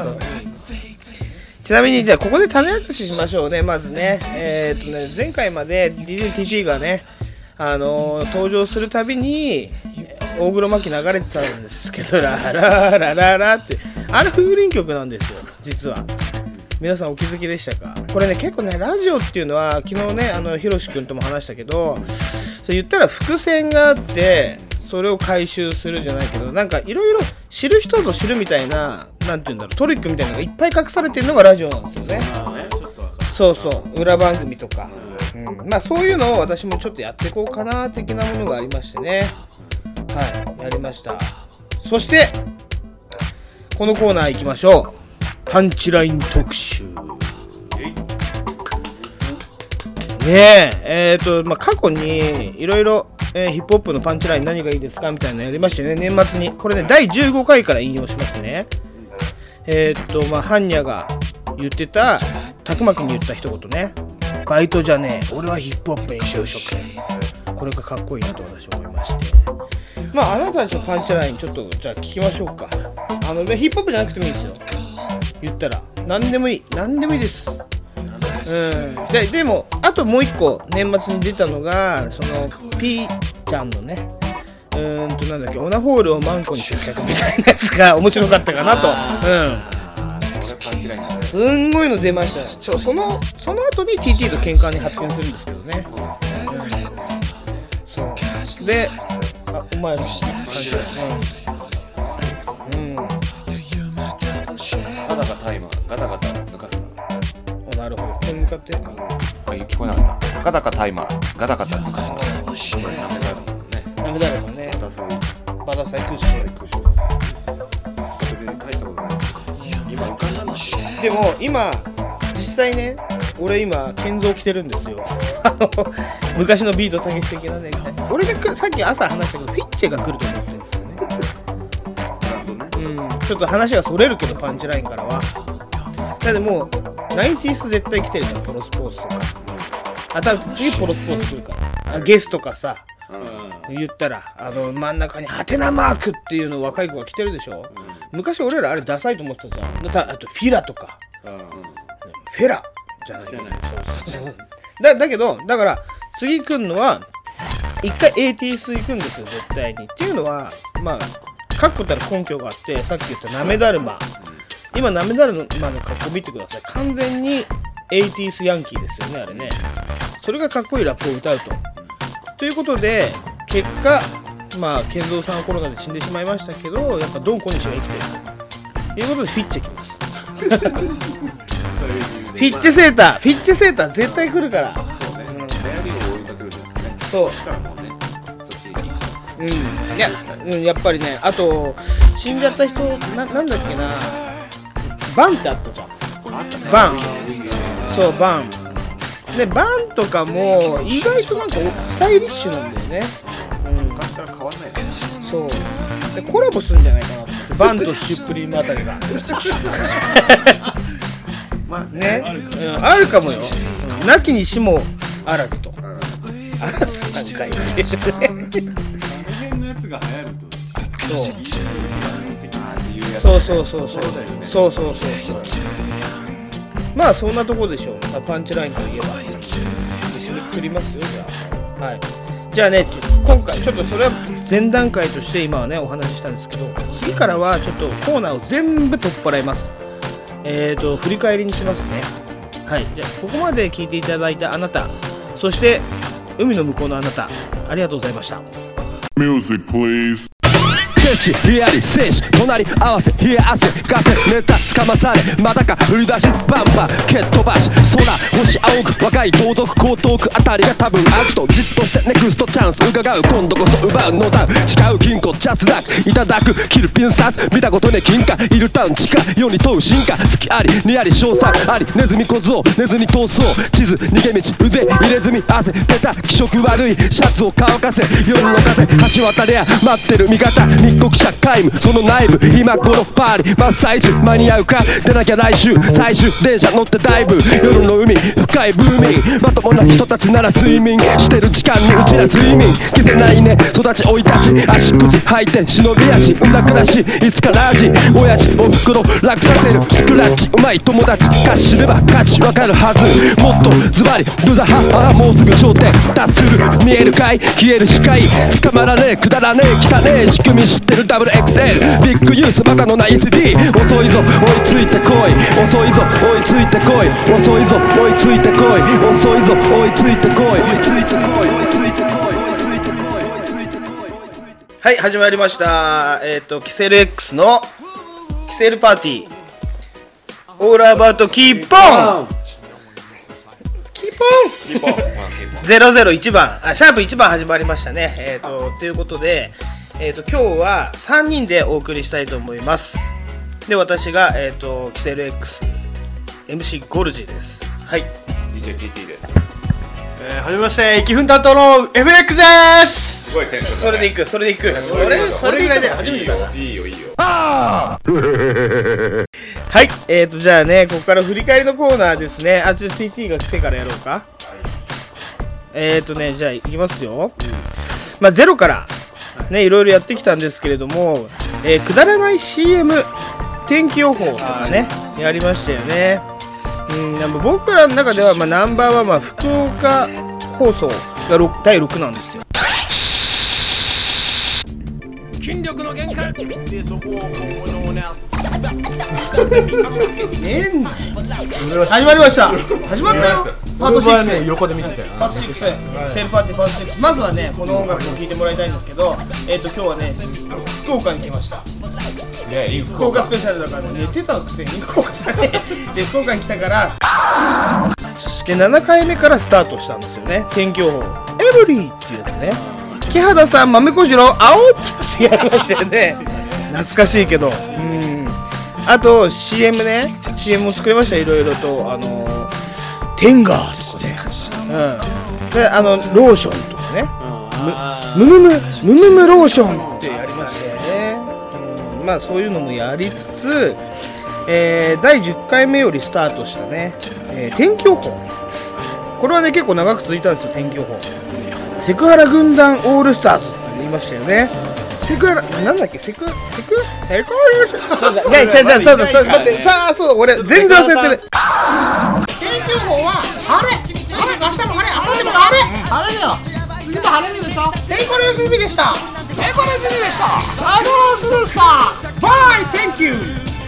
ちなみにじゃあここで種明かししましょうね。まずね、前回まで DJTT がね、登場するたびに大黒摩季流れてたんですけど、ラララララってあれ風鈴曲なんですよ実は。皆さんお気づきでしたか？これね結構ねラジオっていうのは昨日ねひろし君とも話したけど、そう言ったら伏線があってそれを回収するじゃないけど、なんかいろいろ知る人ぞ知るみたいな、なんていうんだろう、トリックみたいなのがいっぱい隠されてるのがラジオなんですよね。そうそう裏番組とか、まあそういうのを私もちょっとやっていこうかな的なものがありましてね。はいやりました。そしてこのコーナー行きましょう。パンチライン特集ねえ。過去にいろいろヒップホップのパンチライン何がいいですかみたいなのやりましてね、年末に。これね第15回から引用しますね。ハンニャが言ってた、たくまくんに言った一言ね、バイトじゃねえ俺はヒップホップに就職。これがかっこいいなと私は思いまして、 まああなたたちのパンチラインちょっとじゃあ聞きましょうか。ヒップホップじゃなくてもいいですよ。言ったら何でもいいです。でもあともう一個年末に出たのがその P ちゃんのねなんだっけオナホールをマンコに接着みたいなやつが面白かったかなと。すんごいの出ました。その後に TT と喧嘩に発展するんですけどね。そうでお前の感じだよね。 ガタガタタイマーガタガタ抜かすな。 なるほど。ここに向かって聞こえなかった。ガタガタタイマーガタガタ抜かすな。ダメだろうね。 バタサイクッション。 別に大したことないですけど今浮かんだんだ。 でも今実際ね俺今建造着てるんですよ。昔のビートたけし的なね。俺がさっき朝話したけどフィッチェが来ると思ってるんですよね。ちょっと話がそれるけどパンチラインからは。だってもう90s 絶対来てるじゃん。プロスポーツとか。多分次プロスポーツ来るから。ゲスとかさ。言ったら真ん中にハテナマークっていうの若い子が着てるでしょ。昔俺らあれダサいと思ってたじゃん。あとフィラとか、フェラじゃない。だけどだから次来るのは一回 80s 行くんですよ絶対に。っていうのはまあ確固たる根拠があって、さっき言ったなめだるま、今なめだるまの格好見てください。完全に 80s ヤンキーですよねあれね。それがかっこいいラップを歌うということで結果まあ健三さんはコロナで死んでしまいましたけどやっぱドン小西は生きてるということでフィッチェ来ます。フィッチェセーター絶対来るから。そうやっぱりね。あと死んじゃった人なんだっけな、バンってあったじゃん。バンでバンとかも意外となんかスタイリッシュなんだよね。 昔から変わんないね。 そうでコラボするんじゃないかなって。バンとシュプリームあたりがね、あるかもよ。なきにしもあらずと。あらずなんかいいのやつが流行るとそうまあそんなとこでしょう。パンチラインといえば締めくくりますよ。じゃあはい、じゃあね今回ちょっとそれは前段階として今はねお話ししたんですけど、次からはちょっとコーナーを全部取っ払います。振り返りにしますね。はい、じゃあここまで聞いていただいたあなた、そして海の向こうのあなた、ありがとうございました。 Music please。摂氏リアリ摂氏隣り合わせ冷え汗ガセネタつかまされまたか振り出しバンバン蹴っ飛ばし空星青く若い盗賊江東区あたりが多分あるとじっとしてネクストチャンス伺う今度こそ奪うのダウン誓う金庫ジャスラックいただくキルピンサス見たことね金貨いるタウン地下世に問う進化好きありにあり賞賛ありネズミ小僧寝ずに逃走地図逃げ道腕入れ墨汗出た気色悪いシャツを乾かせ夜の風橋渡りゃ待ってる味方密告者皆無その内部今頃パーリ真っ最中間に合うか出なきゃ来週最終電車乗ってダイブ夜の海深いブーミンまともな人たちなら睡眠してる時間にうちら睡眠消せないね育ち生い立ち足靴履いて忍び足産んだ暮らしいつかラージ親父おふくろ楽させるスクラッチうまい友達か知れば価値わかるはずもっとズバリドゥザハもうすぐ頂点達する見えるかい消える光捕まらねえくだらねえ汚ねえ仕組み知ってるダブルXL ビッグユースバカのない SD 遅いぞ追いついてこい遅いぞ追いついてこい遅いぞ追いついてこい遅いぞ追いついてこい追いついてこい追いついてこい追いついてこい追いついてこい。 はい、始まりました。キセル X のキセルパーティーオールアバウトキーポン001番シャープ1番始まりましたね。ということで今日は3人でお送りしたいと思います。で、私が、キセル X MC ゴルジです。はい、 DJTT です。 はじめまして、生分担当の FX です。 すごいテンション。 それでいくそれぐらいで初めてだな。 いいよはい、じゃあね、ここから振り返りのコーナーですね。ちょっと TT が来てからやろうか。じゃあいきますよ。まあゼロからね、いろいろやってきたんですけれども、くだらない CM 天気予報とかねやりましたよね。僕らの中ではナンバーワンは福岡放送が第6なんですよ。 筋力の限界。 始まりました。始まったよ。パート6。 横で見てたよ。 パート6。セールパーティーパート6。まずはね、この音楽を聴いてもらいたいんですけど、今日はね、福岡に来ました。福岡スペシャルだからね、寝てたくせに福岡じゃねえ。で、福岡に来たから、で、7回目からスタートしたんですよね。天気予報。エブリーっていうやつね。木肌さん、豆小次郎、青ってやりましたよね。懐かしいけど。あと CM ね、CM も作りました。いろいろとテンガーとかね、でローションとかね、ムムローションってやりましたよね。まあそういうのもやりつつ、第10回目よりスタートしたね、天気予報。これはね結構長く続いたんですよ。天気予報。セクハラ軍団オールスターズって言いましたよね。セクハラなんだっけ、セクハラそうだ待ってさあ、そうだ俺全然忘れてる。 天気予報は晴れ、明日も晴れ、明後日も晴れ、晴れだよ。次も晴れるでしょ。セイコロ休みでした。セイコロ休みでした。サドロスでした。バイセンキュー。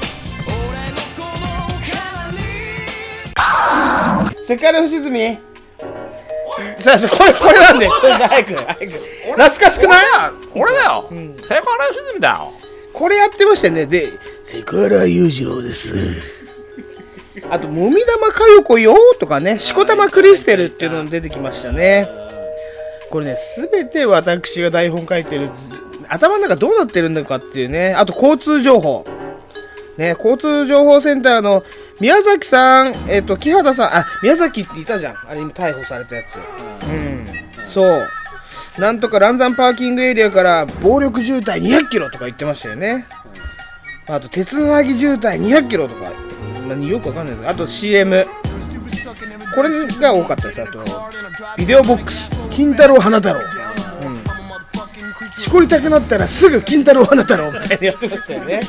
セクハラ不沈み。さあこれなんで早く懐かしくない？ 俺だよ。セクハラ良純だよ。 これやってましたよね。でセクハラ裕次郎です。あともみ玉かよこよとかね、しこたまクリステルっていうのも出てきましたね。これね全て私が台本書いてる頭の中どうなってるんだかっていうね。あと交通情報ね、交通情報センターの宮崎さん、木肌さん、宮崎っていたじゃん。あれ今逮捕されたやつ。そう。なんとか嵐山パーキングエリアから暴力渋滞200キロとか言ってましたよね。あと鉄のなぎ渋滞200キロとか、よくわかんないですけど、あと CM。これが多かったです。あと、ビデオボックス、金太郎花太郎。しこりたくなったらすぐ金太郎花太郎みたいなやってましたよね。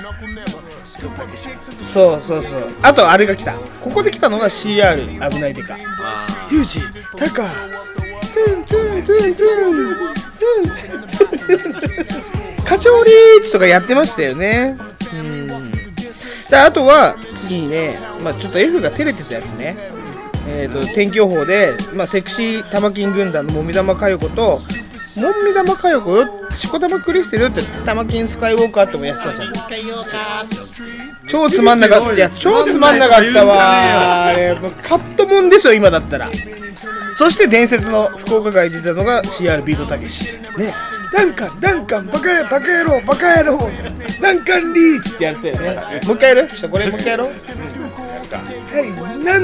そう。あとあれが来た。ここで来たのが CR 危ないデカ。ユージ、タカ、トゥントゥントゥントゥン。課長リーチとかやってましたよね。であとは次にね、ちょっと F が照れてたやつね。天気予報で、セクシー玉金軍団のもみ玉かよこともみ玉かよこよ、しこたまクリステルって玉金スカイウォーカーってもやってたじゃん。超つまんなかった。いや超つまんなかったわ。カットもんですよ今だったら。そして伝説の福岡街に出たのが CR ビートたけしね。ダンカンバカ野郎ダンカンリーチってやってるね。もう一回やる？これもう一回やろう。はい、7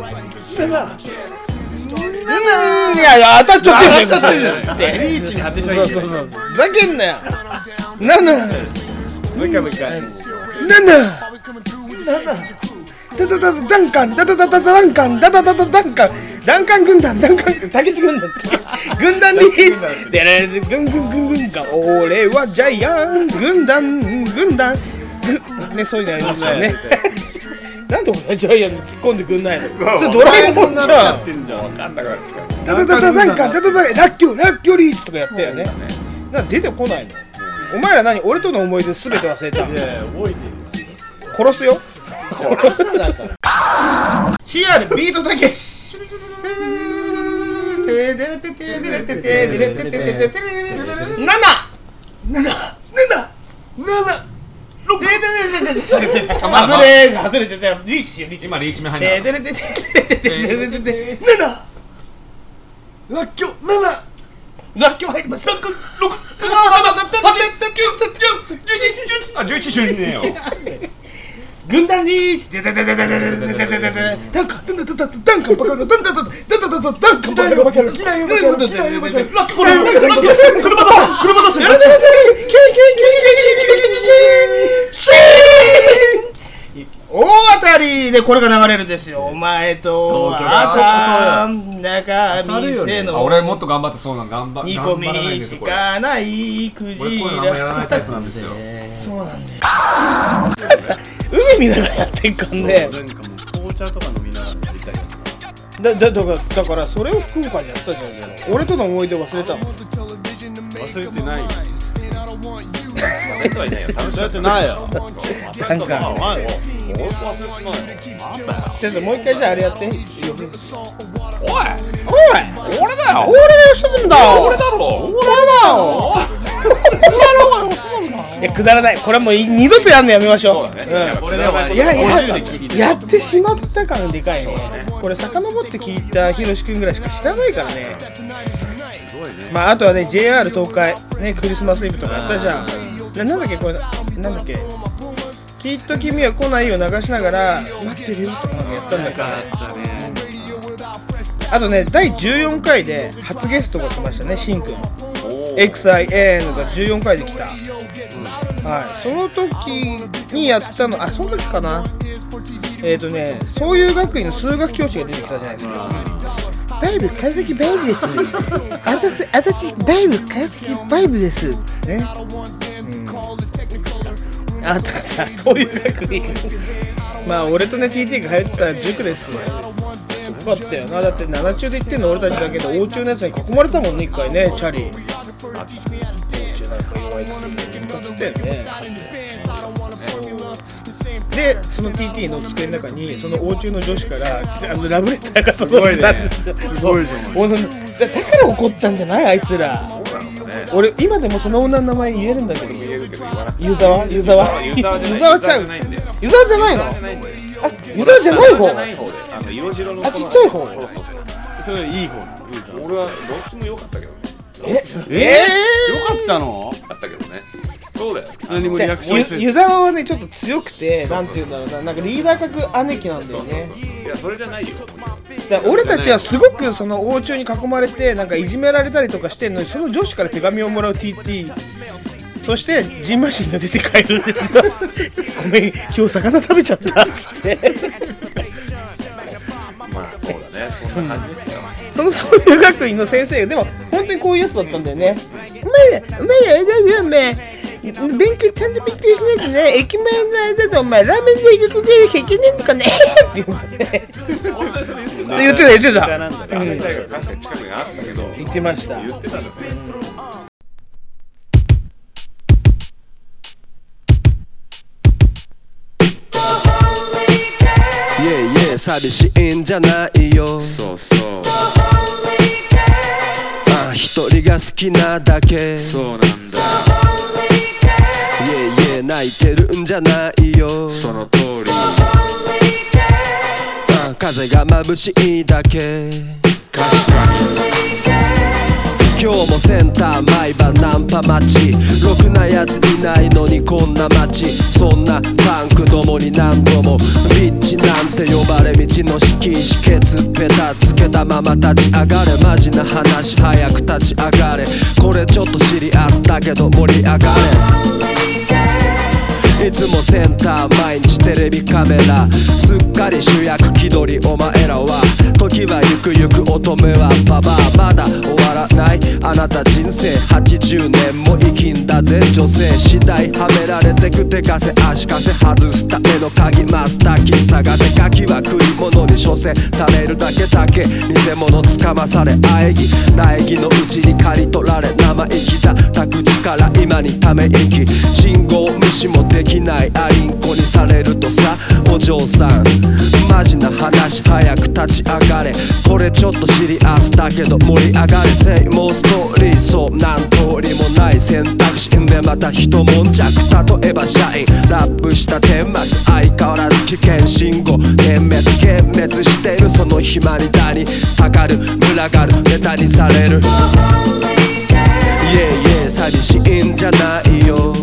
いや当たっちゃってるって。リーチに当てちゃいけない。そうふざけんなよ。7もう一回7ダンカン軍団たけし軍団軍団リーチで軍俺はジャイアン軍団ね、そういうのやりましたよね。なんで俺ジャイアンに突っ込んでくんないの？それドラえもんじゃん。ラッキョリーチとかやったよね。なんで出てこないの？お前ら何？俺との思い出すべて忘れた。いや覚えてる。殺すよ。殺すんだったら。CR ビートたけし。外れちゃう。リーチしよう。 今リーチ目入んな。 ラッキョ入りました。 11順ねよ。 軍団リーチ。ダンカンバカ野郎大当たりでこれが流れるですよ。お前と朝中店の俺もっと頑張ってそうなん煮込みしかないクジラ。 俺こういうのあんまやらないタイプなんですよ。 そうなんだよ。海見ながらやってんかんね。 紅茶とか飲みながらやりたいやつだからそれを福岡でやったじゃん。俺との思い出忘れたの。 忘れてないよ。忘れてはいないよ。忘れてないよ。 なんかちょっともう一回じゃああれやって。おい俺だよ。俺が吉住だ。俺だろ。俺だよ。くだらない。これはもう二度とやんのやめましょう。やってしまった感でかいね。これ遡って聞いたひろしくんぐらいしか知らないからね。まああとはね JR 東海ねクリスマスイブとかやったじゃん。なんだっけこれなんだっけ。きっと君は来ないよ流しながら待ってるよとかやったんだけど。あとね第14回で初ゲストが来ましたねしんくん。XIN が14回で来た。はい、その時にやったの、その時かな。そういう学院の数学教師が出てきたじゃないですか。バイブ川崎バイブです。私バイブ川崎バイブです。ね。あったじゃん、そういう学院。まあ俺とね TT が通ってた塾です。すごかったよな。だって7中で行ってんの俺たちだけど、大中のやつに囲まれたもんね一回ね、チャリ。で、その TT の机の中にその欧中の女子からラブレターが届いたんですよ。すごいじゃん。だから怒ったんじゃないあいつら。俺今でもその女の名前言えるんだけど。湯沢ちゃう。湯沢じゃないの？湯沢じゃない方。ちっちゃい方。 それいい方。俺はどっちも良かったけどね。 良かったの？あったけどね。そうだよ。何もリアクションして湯沢はねちょっと強くて、なんていうんだろうな、なんかリーダー格姉貴なんだよね。 いやそれじゃないよ。 だから俺たちはすごくその王朝に囲まれてなんかいじめられたりとかしてんのに、その女子から手紙をもらう TT。そしてジンマシンが出て帰るんですよ。ごめん今日魚食べちゃったっつって。 まあそうだね。そんな感じでしたよ。 そういう学院の先生がでも本当にこういうやつだったんだよね。お前勉強ちゃんと勉強しないとね、駅前の間でお前ラーメンで行くぐらいしかいけねえのかねって言ってた。言ってました。 言ってたんだね。 寂しいんじゃないよ。 そうそう一人が好きなだけ。 そうなんだ。 泣いてるんじゃないよ。 その通り。 風が眩しいだけ。 確かに。 今日もセンター毎晩ナンパ待ち。ろくなやついないのにこんな街。そんなパンクどもに何度もビッチなんて呼ばれ道の敷石ケツペタつけたまま立ち上がれ。マジな話早く立ち上がれ。これちょっとシリアスだけど盛り上がれ。いつもセンター毎日テレビカメラ。すっかり主役気取りお前らは。時はゆくゆく乙女はババア。まだ終わらないあなた人生。80年も生きんだぜ女性。次第はめられてく手稼足かせ。外すための鍵マスターキー探せ。ガキは食い物に処せされるだけだけ。偽物つかまされ喘ぎ苗木のうちに刈り取られ生意気だった口から今にため息。信号無視もできないアリンコにされるとさ。お嬢さんマジな話早く立ち上がれ。これちょっとシリアスだけど盛り上がれ。セイモーストーリーそうなん通りもない選択肢でまた一悶着。例えば社員ラップした顛末相変わらず危険信号点滅幻滅してるその暇にだにかかる群がるネタにされる。寂しいんじゃないよ。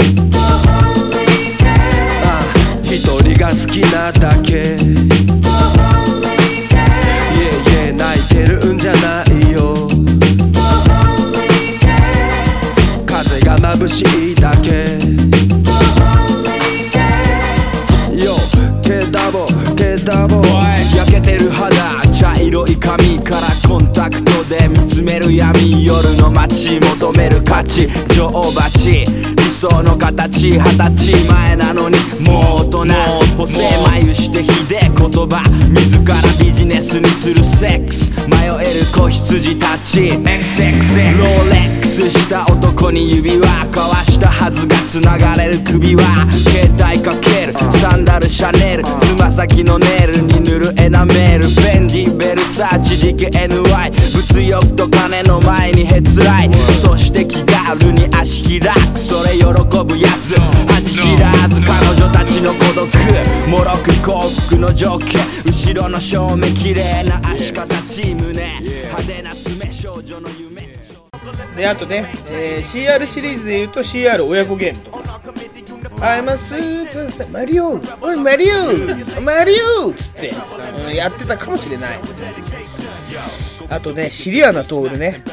一人が好きなだけ。泣いてるんじゃないよ。風が眩しいだけ。よ、けだもけンタクトで見つめる闇、夜の街求める価値、女王蜂理想の形、20歳前なのにもう大人、補正眉してひで言葉、自らビジネスにするセックス、迷える子羊たち XXX ローレックスした男に指輪交わしたはずが繋がれる首は、携帯かけるサンダルシャネル、つま先のネイルに塗るエナメール、フェンディベルサーチ DKNY、 物欲と金の前にへつらい、そして気軽に足開く、それ喜ぶやつ恥知らず、彼女たちの孤独もろく幸福の条件、後ろの正面綺麗な足形胸、派手な爪少女の夢で、あとね、CR シリーズでいうと CR 親子ゲームとか、I'm a superstar マリオ、おいマリオマリオつって、やってたかもしれない。あとね、シリアナトールね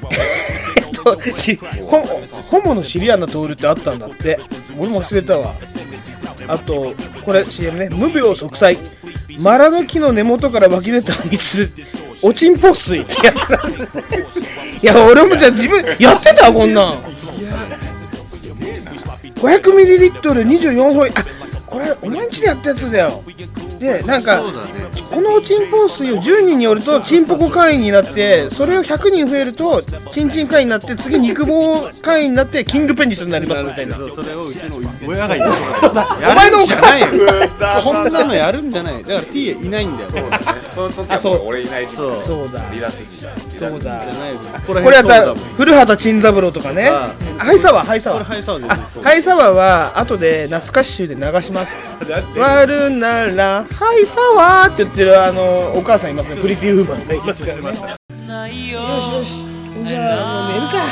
ホモのシリアナトールってあったんだって、俺も忘れたわ。あとこれ CM ね、無病息災、マラの木の根元から湧き出た水、おちんぽ水ってやつだいや俺もじゃあ自分やってたこんなん。500ml24 ホイ、あ、これお前んちでやったやつだよ。でなんか、このおちんぽ水を10人によるとチンポコ会員になって、それを100人増えるとチンチン会員になって、次肉棒会員になってキングペニスになりますみたいな。 それをうちの親が言ってお前のお母さんそんなのやるんじゃない。だから T いないんだよ。 そうだね。その時は俺いない時期。 そうだ。 離脱時代。 そうだ。 これやったら古畑任三郎とかね。ハイサワー、ハイサワー。ハイサワーは後で懐かし集で流します。割るならハイサワーって言ってるお母さんいますね。プリティウーマンがいますからね。よしよし。じゃあもう寝るか。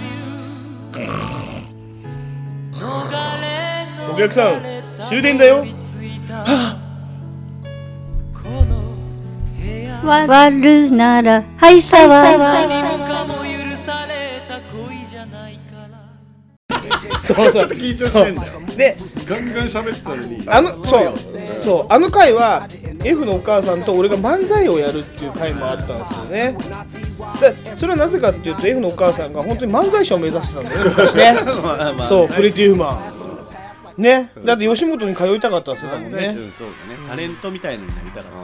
お客さん終電だよ。 割るならハイサワー。 そうそう。で、 ガンガン喋ってたのに。 そうあの回は F のお母さんと俺が漫才をやるっていう回もあったんですよね。でそれはなぜかっていうと F のお母さんが本当に漫才師を目指してたんだよね昔ねそうプリティウーマンね、だって吉本に通いたかったんですよね。 そうだね、タレントみたいなのになりたかった。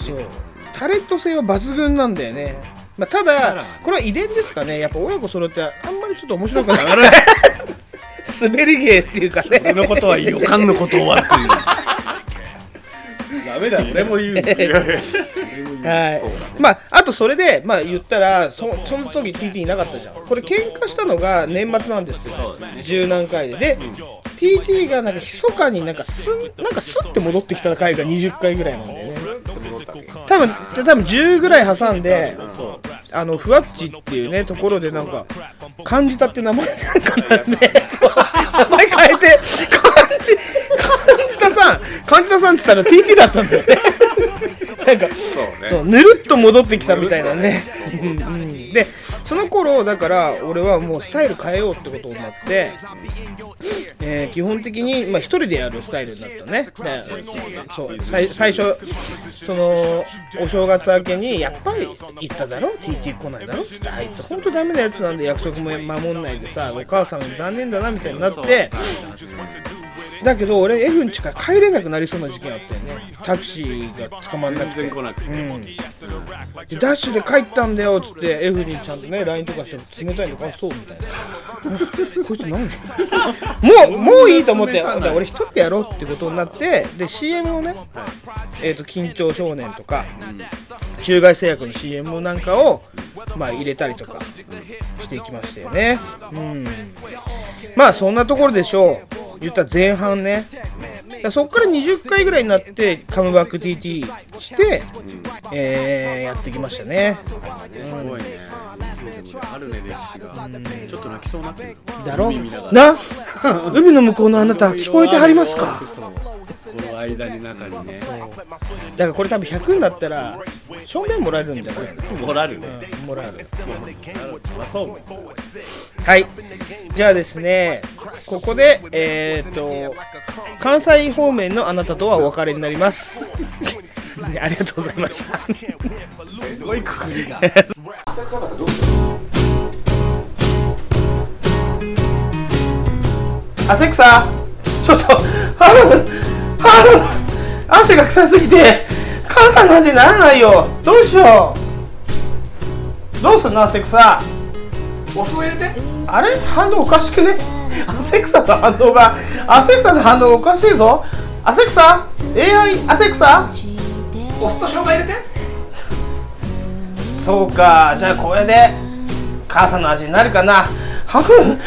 そうタレント性は抜群なんだよね。まあ、ただこれは遺伝ですかね。やっぱ親子揃ってあんまりちょっと面白くない滑り芸っていうかね。 俺のことはいいよ、かんのことを悪く言うダメだ、俺も言うはい、まああとそれでまあ言ったらその時 TT いなかったじゃん。これ喧嘩したのが年末なんですよ。十何回で、TT がなんか密かになんかスッて戻ってきた回が20回ぐらいなんだよね。多分10ぐらい挟んで、ふわっちっていうねところでなんか感じたって名前なんかなんで名前変えて感じたさんって言ったら TT だったんだよねなんかそうぬるっと戻ってきたみたいなねでその頃だから俺はもうスタイル変えようってことになって、基本的に一人でやるスタイルになったね。そう最初そのお正月明けにやっぱり言っただろ TT 来ないだろって、あいつ本当ダメなやつなんで約束も守んないでさ、お母さん残念だなみたいになって、だけど俺 F ん家から帰れなくなりそうな時期あったよね。タクシーが捕まんなくて、でダッシュで帰ったんだよっつって F にちゃんとね LINE とかして冷たいのかそうみたいなこいつ何もういいと思って俺一人でやろうってことになって、で CM をね、緊張少年とか中外製薬の CM なんかを入れたりとかしていきましたよね。まあそんなところでしょう。言ったら前半ね。そっから20回ぐらいになってカムバック TT して、やってきましたね。 すごいね。あるね歴史が。ちょっと泣きそうになってる。 だろな海の向こうのあなた聞こえてはりますか。 この間に中にね。 だからこれ多分100になったら証明もらえるんじゃない？ もらえるね。 もらえる。 そう。 はい。じゃあですね、ここで関西方面のあなたとはお別れになります。ありがとうございました。 すごいくくりが。 浅草方どうする？ 浅草、ちょっと汗が臭すぎて母さんの味にならないよ。どうしよう。どうすんの浅草。 お酢を入れて。 あれ、反応おかしくね。浅草の反応が、浅草の反応おかしいぞ。浅草 AI 浅草、 お酢と生姜入れて。 そうか、じゃあこれで母さんの味になるかな。ハフン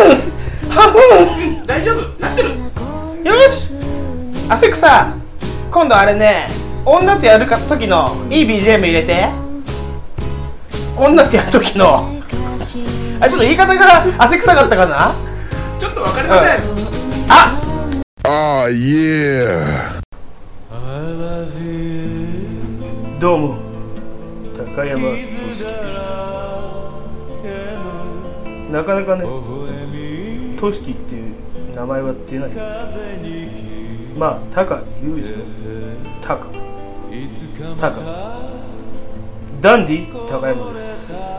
大丈夫なってる。 よし、浅草、今度あれね、女とやる時のいい BGM 入れて。女とやる時のあ、ちょっと言い方が汗臭かったかな。 ちょっとわかりません、 Oh yeah。 どうも、高山俊樹です。なかなかね、トシキっていう名前は出ないんですけど、まあ、高裕二の高ダンディ高山です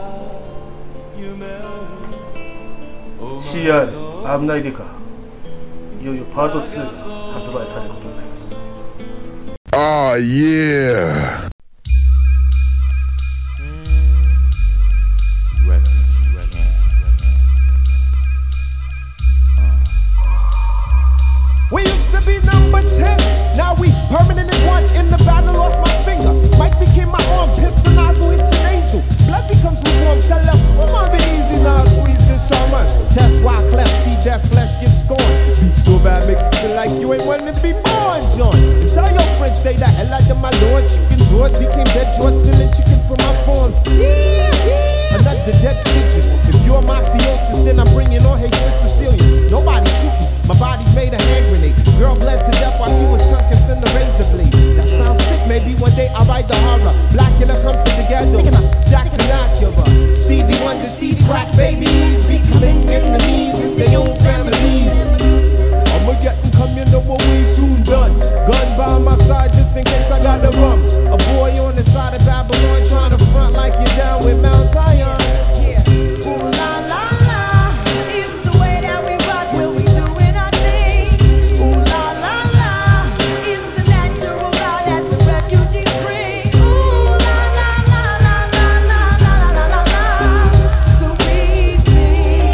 。CR 危ないでか、いよいよパート2が発売されることになります。 Oh yeah。 We used to be number 10, now we permanent in one. In the battle, lost my finger. Mike became my arm, pistol nozzle hits your nasal. Blood becomes lukewarm, tell them, oh my, be easy now, squeeze this Sherman. Test why cleft, see that flesh get scorned. Beat so bad, make you feel like you ain't wanting to be born, John. And tell your friends, stay the hell out of my lord. Chicken George became dead George, stealing chickens from my farm. Another dead pigeon. If you're mafiosis, then I'm bringing on hatred Sicilian. Nobody shooting, my body's made a hand grenade. Girl bled to death while she was tongue kissing the razor blade. That sounds sick, maybe one day I'll write the horror. Blackula comes to the ghetto, Jackson Acura. Stevie Wonder sees crack babies becoming enemies in their own families. I'ma get them come, you know what we soon done. Gun by my side just in case I got the rum. A boy on the side of Babylon trying to front like you're down with Mount Zion. Ooh la la la, it's the way that we rock when we doing our thing. Ooh la la la, it's the natural law that the refugees bring. Ooh la la la la la la la la la la. So we think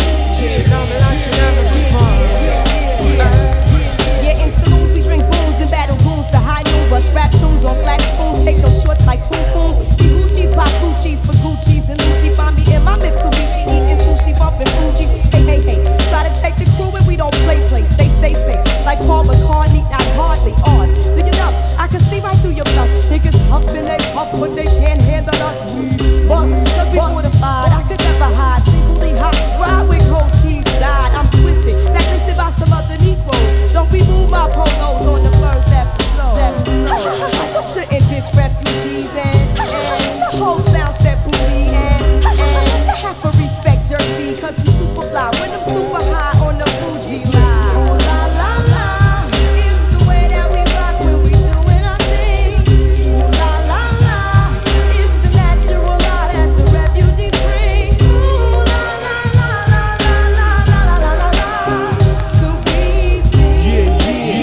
yeah, in saloons we drink booze and battle goons to high noon. Bust rap tunes on flat spoons, take no shorts like poom pooms. See Gucci's pop Gucci's for Gucci's and Lucci. Find me in my Mitsubishi eating sushi, bumping Fuji's. Hey hey hey, try to take the crew and we don't play. Say like Paul McCartney, not hardly odd. Look it up, I can see right through your bluff. Niggas huffing they puff, but they can't handle us. We bust, cause we fortified, but I could never hide. Equally hot, ride with cold cheese, died. I'm twisted, blacklisted by some other Negroes. Don't remove my polos on the first episode. You shouldn't diss refugees and the whole sound set booty and I have to respect Jersey cause I'm super fly when I'm super high on the Fuji line. Ooh la la la, it's the way that we rock when we doing our thing. Ooh la la la, it's the natural law that the refugees bring. Ooh la la la la la la la la la la. So we think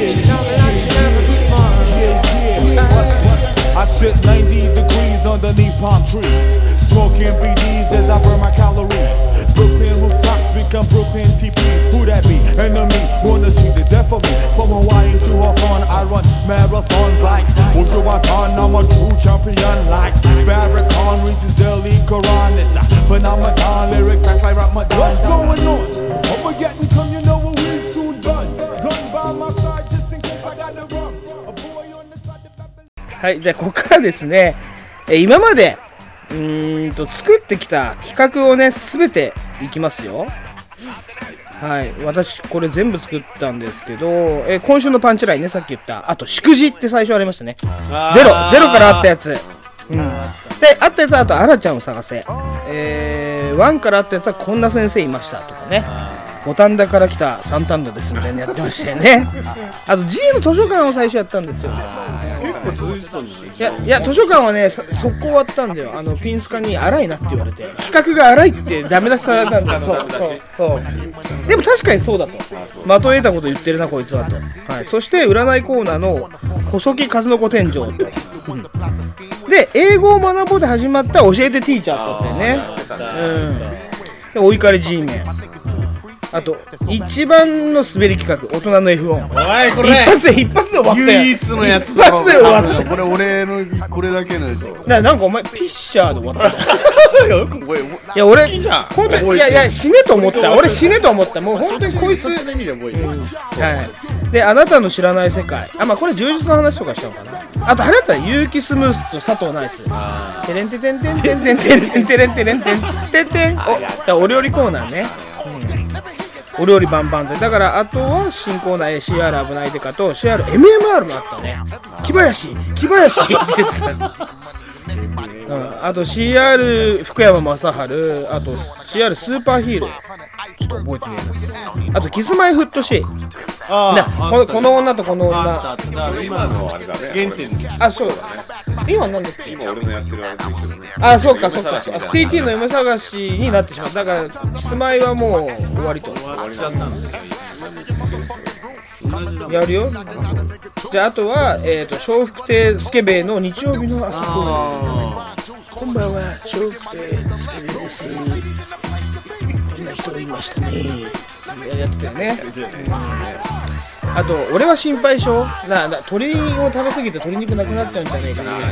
I sit 90 degrees underneath palm trees, smoking BDs as I burn my calories. Brooklyn rooftops become Brooklyn TPs. Who that be? Enemy, wanna see the death of me. From Hawaii to Hawthorne, I run marathons like Wujuwatan. I'm a true champion like Farrakhan reaches Delhi Quran. It's a phenomenon, lyric facts like Ramadan. What's going on? I'ma get and come, you know what we soon done. Gun by my side just in case I got the rum. A boy on the side of Babylon. はい、じゃあここからですね、今まで作ってきた企画をね全ていきますよ。はい、私これ全部作ったんですけど、今週のパンチラインね、さっき言ったあと祝辞って最初ありましたね。ゼロからあったやつ、であったやつはあとあらちゃんを探せ、1からあったやつはこんな先生いましたとかね、 五反田から来た三反田ですみたいなやってましたよね。あと G の図書館を最初やったんですよ。 結構続いてたんですよ。いや図書館はね速攻終わったんだよ。ピンスカに荒いなって言われて、企画が荒いってダメ出しされたんだよ。そうでも確かにそうだと、的を得たこと言ってるなこいつはと、はい、そして占いコーナーの細木数の子天井と、で英語を学ぼうで始まった教えてティーチャーとってね、でお怒り G メン、あと一番の滑り企画大人の F 音、 おいこれ一発で終わったよ。 唯一のやつ一発で終わった。 これ俺のこれだけのやつなんかお前ピッシャーで終わった。いや俺本当にいや死ねと思った。俺死ねと思った。もう本当にこいつ、はい。であなたの知らない世界、まあこれ充実の話とかしちゃうかな。あとあれだったら結城スムースと佐藤ナイス、テレンテテンテンテンテンテンテンテレンテレンテンテンテン、お料理コーナーね、お料理バンバンで、だからあとは新コーナー CR 危ないデカと CRMMR もあったね。木林って言ってた。あと CR 福山雅治、あと CR スーパーヒーローちょっと覚えてねえな。あとキスマイフットシー、この女とこの女、 今のあれだね原点、 そうだね。今なんだっけ、 今俺のやってるあれと一緒だね。 そうか TT の夢探しになってしまう。だからキスマイはもう終わりと、やるよ。であとは笑福亭スケベイの日曜日の朝こんばんは、笑福亭スケベイです、こんな人いましたね、やってたよね。あと俺は心配性鶏を食べ過ぎて鶏肉なくなっちゃうんじゃないかな。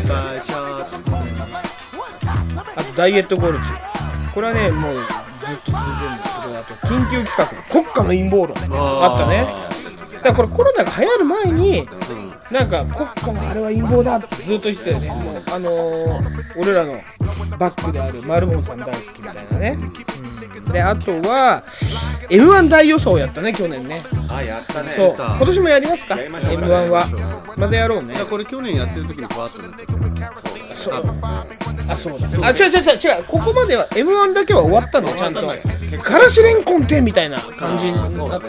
あとダイエットゴルジ、これはねもうずっと続いてるんですけど、あと緊急企画国家の陰謀論あったね。だからこれコロナが流行る前になんか国家のあれは陰謀だってずっと言ってたよね。もう俺らのバックであるマルモンさん大好きみたいなね。であとは M1 大予想やったね去年ね。 やったね。 そう今年もやりますか M1 は。またやろうね。 これ去年やってる時にバーッとなってそうだ。違うここまでは M1 だけは終わったのちゃんと。からしれんこんてみたいな感じになってた。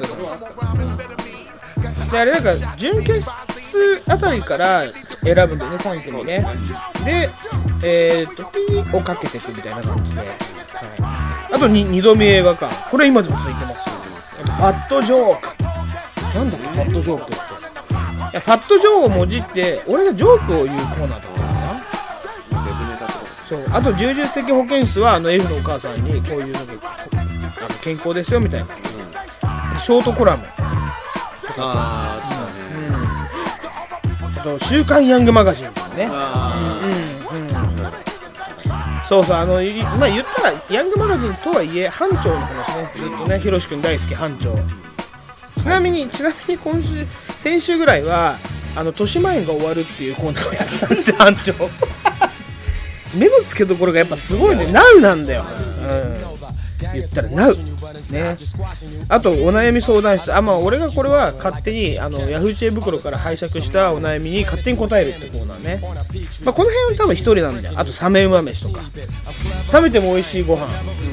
であれなんか準決あたりから選ぶんだよね3組ね。でピーをかけていくみたいな感じで、あと2度見映画館、これ今でも続いてます。あとファットジョーク、なんだろうファットジョークって。いやファットジョーをもじって俺がジョークを言うコーナーだったかな。そうあと重々的保健室はF のお母さんにこういうのが健康ですよみたいな、ショートコラムあと週刊ヤングマガジンとかね。そうまあ言ったらヤングマガジンとはいえ班長の話ね、ずっとねひろしくん大好き班長。ちなみに先週ぐらいは豊島園が終わるっていうコーナーをやってたんですよ班長。目の付けどころがやっぱすごいね。ナウなんだよ、言ったらナウね。あとお悩み相談室、俺がこれは勝手にヤフー知恵袋から拝借したお悩みに勝手に答えるってコーナーね。この辺は多分一人なんだよ。あとサメ馬飯とか冷めても美味しいご飯、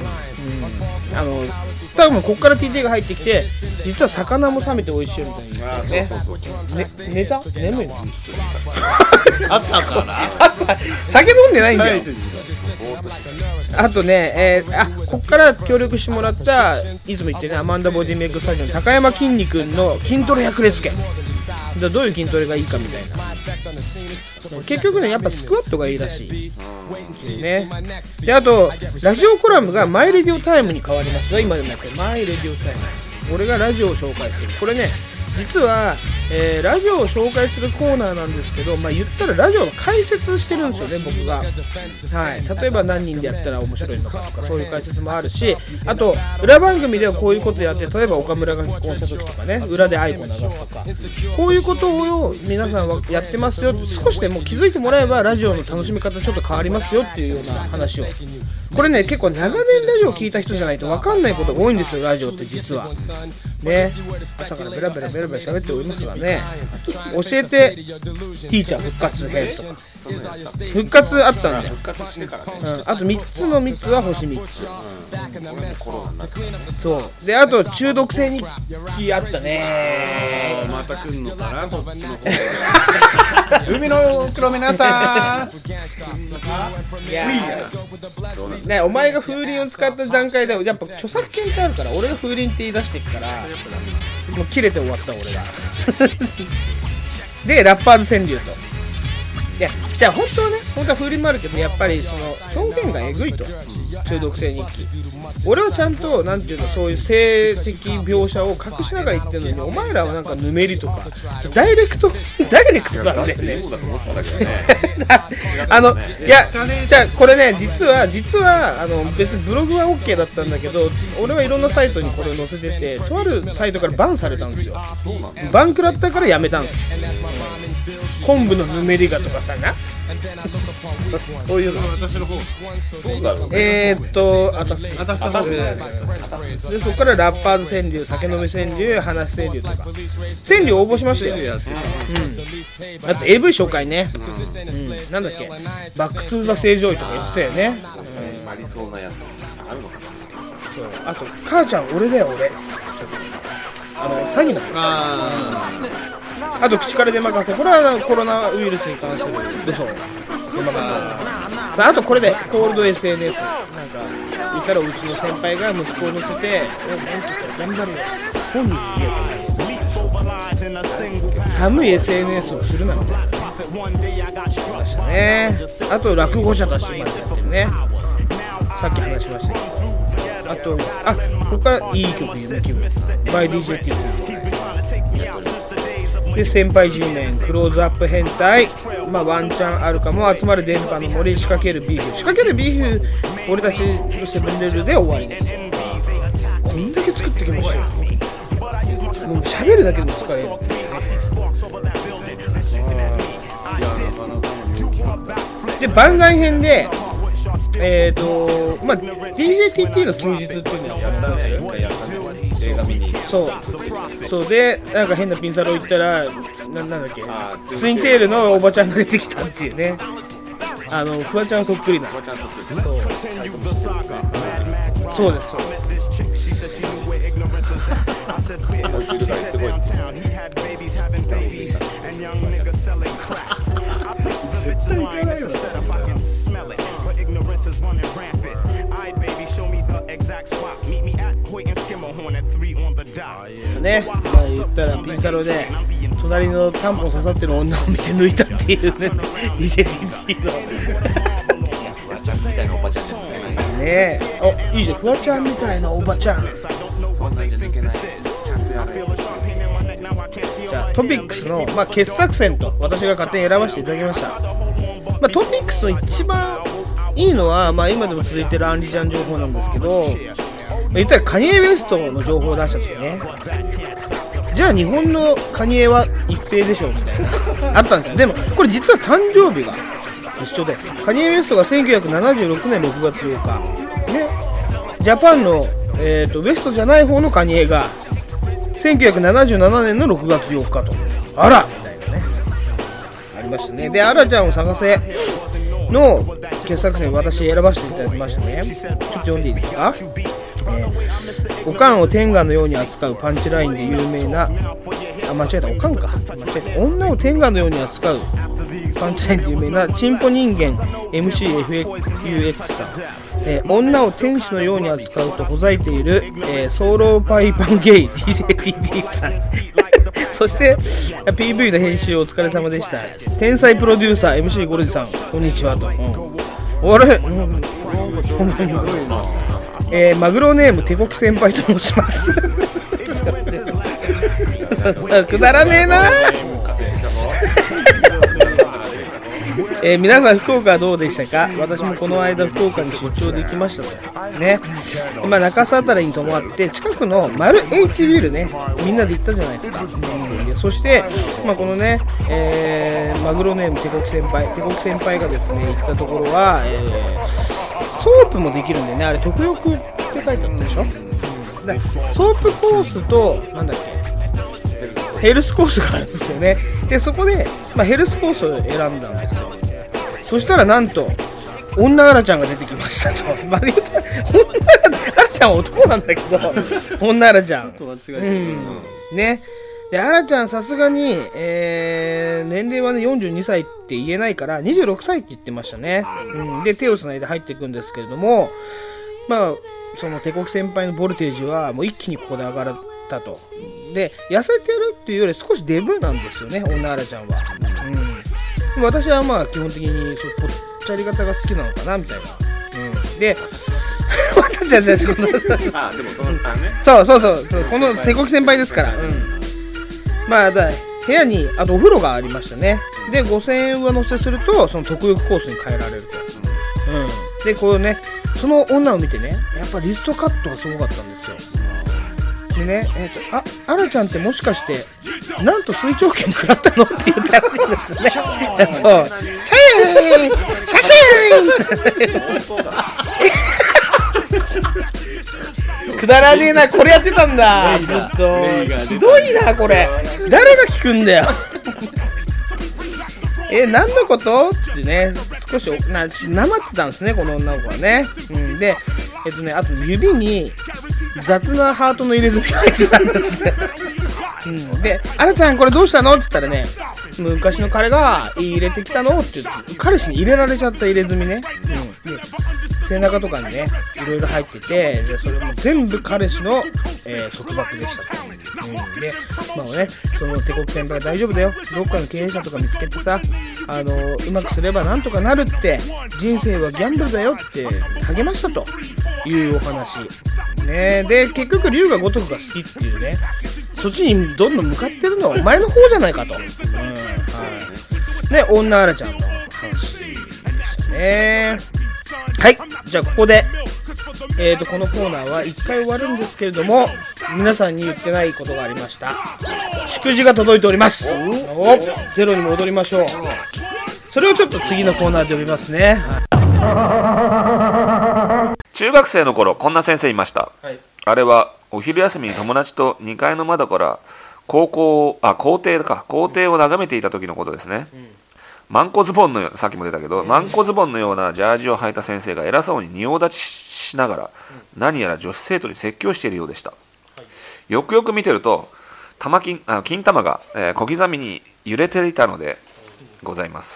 多分こっから TT が入ってきて実は魚も冷めて美味しいみたいなね。寝た？眠いの？ 朝から酒飲んでないんだよ。あとね、こっから協力してもらったいつも言ってねアマンダボディメイクスタジオの高山きんに君の筋トレ百裂拳、どういう筋トレがいいかみたいな。結局ねやっぱスクワットがいいらしいね。であとラジオコラムがマイレディオタイムに変わりますが、今でもやってマイレディオタイム、俺がラジオを紹介する。これね実は、ラジオを紹介するコーナーなんですけど、言ったらラジオの解説してるんですよね僕が。例えば何人でやったら面白いのかとかそういう解説もあるし、あと裏番組ではこういうことやって、例えば岡村が結婚した時とかね裏で愛子流すとか、こういうことを皆さんはやってますよ、少しでも気づいてもらえばラジオの楽しみ方ちょっと変わりますよっていうような話を。これね結構長年ラジオ聞いた人じゃないと分かんないことが多いんですよラジオって実はね。朝からベラベラ喋っておりますがね、教えてティーチャー復活編とか復活あったんだよ。 復活してからね、 あと3つの3つは星3つ、そうで、あと中毒性日記あったね。 また来んのかな、こっちの方海の黒皆さんいやね、お前が風鈴を使った段階でやっぱ著作権ってあるから、俺が風鈴って言い出してっからもう切れて終わった俺がでラッパーズ川柳と、いやじゃあ本当は風鈴もあるけど、やっぱりその表現がえぐいと、中毒性日記、俺はちゃんとなんていうの、そういう性的描写を隠しながら言ってるのに、お前らはなんかぬめりとかダイレクトなんだよねいやじゃあこれね、実は別にブログは OK だったんだけど、俺はいろんなサイトにこれを載せてて、とあるサイトからバンされたんですよ。バン食らったからやめたんです。昆布のぬめりがとかさなそういうの私の方そうだろうで、そこからラッパーズ川柳、酒飲み川柳、話川柳とか川柳応募しましたよ。あと AV 紹介ね、なんだっけ、バックトゥーザ正常位とか言ってたよね。 ありそうなやつあるのかな。 あと母ちゃん俺だよ俺、詐欺のあと口から出まかせ、これはコロナウイルスに関する嘘出まかせ。あとこれでコールド SNS、 なんかいたらうちの先輩が息子を乗せて頑張るよ本人に言えば寒い SNS をするなんてましたね。あと落語者たちまでやってるね、さっき話しましたけど。あとここからいい曲夢気分バイ DJ っていうで、先輩 G メンクローズアップ変態、ワンチャンあるかも、集まる電波の森、仕掛けるビーフ俺たちのセブンレールで終わりです。こんだけ作ってきましたよ。もう喋るだけでも疲れる。で番外編でDJTT の休日っていうのをやったんだよ。 映画見にそうで、なんか変なピンサロ行ったらなんだっけ、ツインテールのおばちゃんが出てきたっていうね、フワちゃんそっくりな、そうです絶対行かないよね、言ったらピンサロで隣のタンポン刺さってる女を見て抜いたっていうねDJTT のフワちゃんみたいなおばちゃんじゃ抜けないねえ、いいじゃん、フワちゃんみたいなおばちゃん、 そんなんじゃ抜けない。 じゃあトピックスの、傑作選と私が勝手に選ばせていただきました。トピックスの一番いいのは、今でも続いてるアンリちゃん情報なんですけど、言ったらカニエ・ウェストの情報を出した時ね、じゃあ日本のカニエは一平でしょみたいなあったんですよ。でもこれ実は誕生日が一緒で、カニエ・ウェストが1976年6月8日ね、ジャパンの、ウェストじゃない方のカニエが1977年の6月4日と、あらみたいなねありましたね。で、アラちゃんを探せの傑作選、私選ばせていただきましたね。ちょっと読んでいいですか。おかんを天下のように扱うパンチラインで有名な、間違えた、おかんか、女を天下のように扱うパンチラインで有名なチンポ人間 MCFUX さん、女を天使のように扱うとほざいている、ソローパイパンゲイ DJTT さんそして PV の編集お疲れ様でした。天才プロデューサー MC ゴルジさん、こんにちはと。あれマグロネーム手こき先輩と申しますくだらねえな皆さん福岡はどうでしたか。私もこの間福岡に出張できましたとね。今中洲あたりに泊まって近くのマル H ビルね、みんなで行ったじゃないですか。そして、このね、マグロネーム手こき先輩がですね行ったところは、ソープもできるんでね、あれ特浴って書いてあったでしょ。ソープコースとなんだっけ、 ヘルスコースがあるんですよね。でそこで、ヘルスコースを選んだんですよ。そしたらなんと女アラちゃんが出てきましたと。女アラちゃんは男なんだけど女アラちゃん、ね。でアラちゃんさすがに、年齢はね42歳って言えないから26歳って言ってましたね。で手をつないで入っていくんですけれども、その帝国先輩のボルテージはもう一気にここで上がったと。で痩せてるっていうより少しデブなんですよね、女アラちゃんは。私は基本的にそうぽっちゃり方が好きなのかなみたいな。で私はね、そうこの帝国先輩ですから。部屋にあとお風呂がありましたね。で5000円上乗せするとその特浴コースに変えられると。でこうね、その女を見てね、やっぱリストカットがすごかったんですよ。でね、アラちゃんってもしかしてなんと水長券食らったのって言ったらしいんですね。そう、写真くだらねえな、これやってたんだずっと。ひどいなこれ、誰が聞くんだよ何のことってね、少しなまってたんですね、この女の子はね。であと指に雑なハートの入れ墨が入ってたんですよ。でアラちゃんこれどうしたのって言ったらね、昔の彼が入れてきたのって言って、彼氏に入れられちゃった入れ墨ね。で背中とかにねいろいろ入ってて、でそれも全部彼氏の、束縛でしたと。でその帝国先輩が大丈夫だよ、どっかの経営者とか見つけてさ、うまくすればなんとかなるって、人生はギャンブルだよって励ましたというお話ね。で結局龍が如くが好きっていうね、そっちにどんどん向かってるのはお前の方じゃないかと。で女アラちゃんの話でしたね。はい、じゃあここでこのコーナーは1回終わるんですけれども、皆さんに言ってないことがありました。祝辞が届いております。ゼロに戻りましょう。それをちょっと次のコーナーで呼びますね。 中学生の頃こんな先生いました、あれはお昼休みに友達と2階の窓から校庭を眺めていた時のことですね。マンコズボンのような、さっきも出たけど、マンコズボンのようなジャージを履いた先生が偉そうに仁王立ちしながら何やら女子生徒に説教しているようでした。よくよく見てると金玉が、小刻みに揺れていたのでございます。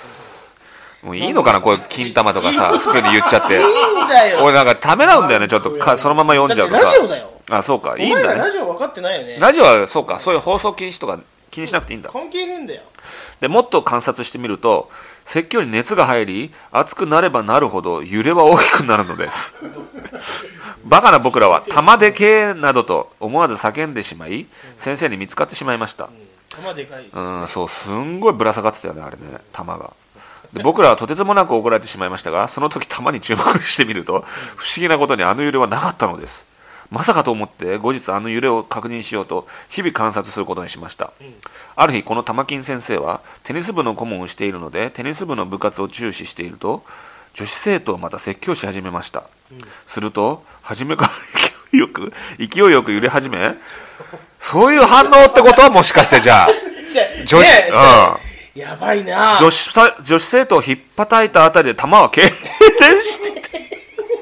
もういいのかな、こういう金玉とかさ普通に言っちゃって。俺なんかためらうんだよね、ちょっとそのまま読んじゃうとさ。 ラジオだよ。 あ、そうか、いいんだね。 お前らラジオ分かってないよね。 ラジオはそうか、そういう放送禁止とか気にしなくていいんだ。 関係ねえんだよ。 でもっと観察してみると、説教に熱が入り熱くなればなるほど揺れは大きくなるのですバカな僕らは玉でけえなどと思わず叫んでしまい、先生に見つかってしまいました。 玉でかい。 そう、すんごいぶら下がってたよね、あれね、玉が。で僕らはとてつもなく怒られてしまいましたが、その時玉に注目してみると不思議なことにあの揺れはなかったのです。まさかと思って後日あの揺れを確認しようと日々観察することにしました。ある日この玉金先生はテニス部の顧問をしているので、テニス部の部活を注視していると女子生徒をまた説教し始めました。すると初めから勢いよく揺れ始め、そういう反応ってことはもしかしてじゃあ女子、 やばいな。 女子生徒を引っ叩いたあたりで玉は痙攣してて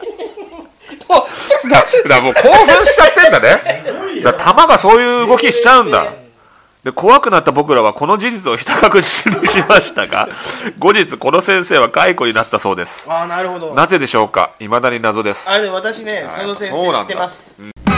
だもう興奮しちゃってんだね。だ玉がそういう動きしちゃうんだ。で怖くなった僕らはこの事実をひた隠しにしましたが、後日この先生は解雇になったそうです。 なるほど。 なぜでしょうか、未だに謎です。 私ね、その先生知ってます。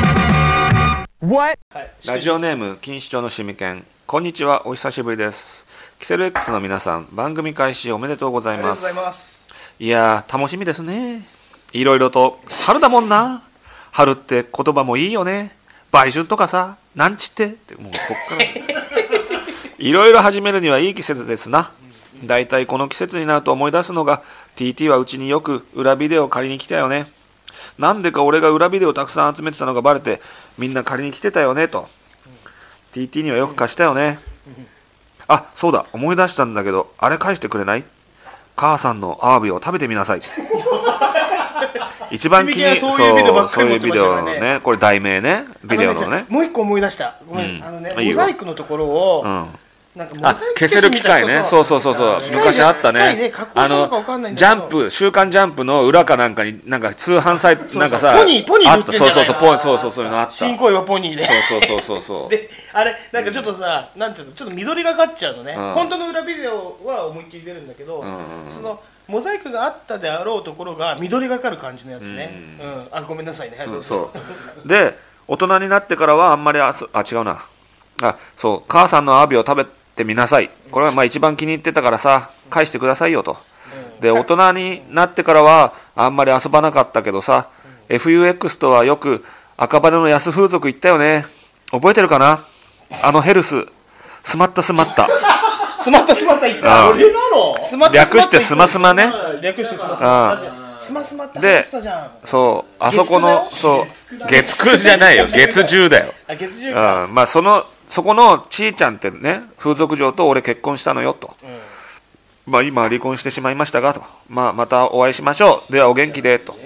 ラジオネーム錦糸町のしみけん、こんにちは、お久しぶりです。キセル X の皆さん、番組開始おめでとうございます。いやー楽しみですね。いろいろと春だもんな。春って言葉もいいよね。売春とかさ、なんちってもうこっからいろいろ始めるにはいい季節ですな。だいたいこの季節になると思い出すのが TT はうちによく裏ビデオ借りに来たよね。なんでか俺が裏ビデオたくさん集めてたのがバレてみんな借りに来てたよねと。TT にはよく貸したよね。あ、そうだ、思い出したんだけど、あれ返してくれない？母さんのアワビを食べてみなさい。 一番気にそういうビデオのね、これ題名ね、ビデオのね。 もう一個思い出した。ごめん、モザイクのところを、 なんか消せる機械ね。そう昔あったね。ジャンプ、週刊ジャンプの裏かなんかになんか通販サイトなんかさ、 ポニー売ってんじゃないかな。 そういうのあった。 新恋はポニーで。 そう。 で、あれなんかちょっとさ、なんていうの、ちょっと緑がかっちゃうのね。本当の裏ビデオは思いっきり出るんだけど、そのモザイクがあったであろうところが緑がかる感じのやつね。あ、ごめんなさいね。 そうで、大人になってからはあんまり違うな。そう、母さんのアワビを食べてみなさい。これはまあ一番気に入ってたからさ、返してくださいよと。で、大人になってからはあんまり遊ばなかったけどさ、FUX とはよく赤羽の安風俗行ったよね。覚えてるかな？ヘルス、スマッタ。スマッタ行った。 俺なの？ 略してスマスマね。 略してスマスマ。スマスマって話したじゃん。 そう、あそこの、そう、月9じゃないよ、月10だよ。 月10か。 まあそこのちーちゃんってね、風俗嬢と俺結婚したのよと。まあ今離婚してしまいましたがと。まあまたお会いしましょう。ではお元気でと。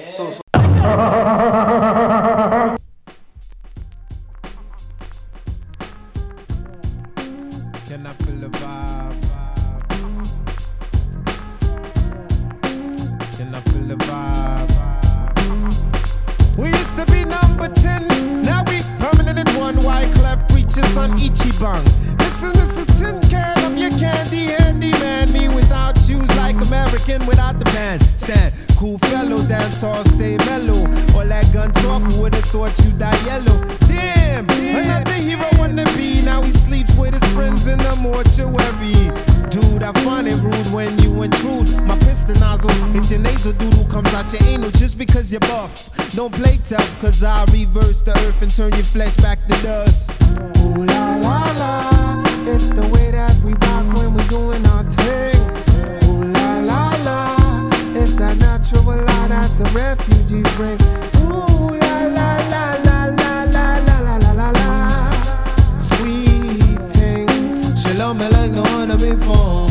We used to be number 10, now we permanent at one. Wyclef preachers on Ichiban. This is Mrs. Tin Can, I'm your candy handyman. Me without shoes like American without the bandstand. Cool fellow, dance all stay mellow. All that gun talk, who would've thought you die yellow? Damn, another hero wanna be. Now he sleeps with his friends in the mortuary. Dude, I find it rude when you intrude. My piston nozzle, it's your nasal doodle comes out your anal just because you're buff. Don't play tough, cause I'll reverse the earth and turn your flesh back to dust. Ooh la la la, it's the way that we rock when we doing our thing. Ooh la la la, it's that natural light that the refugees bring. Ooh la la la la la la la la la la. Sweet thing, she love me like no other before.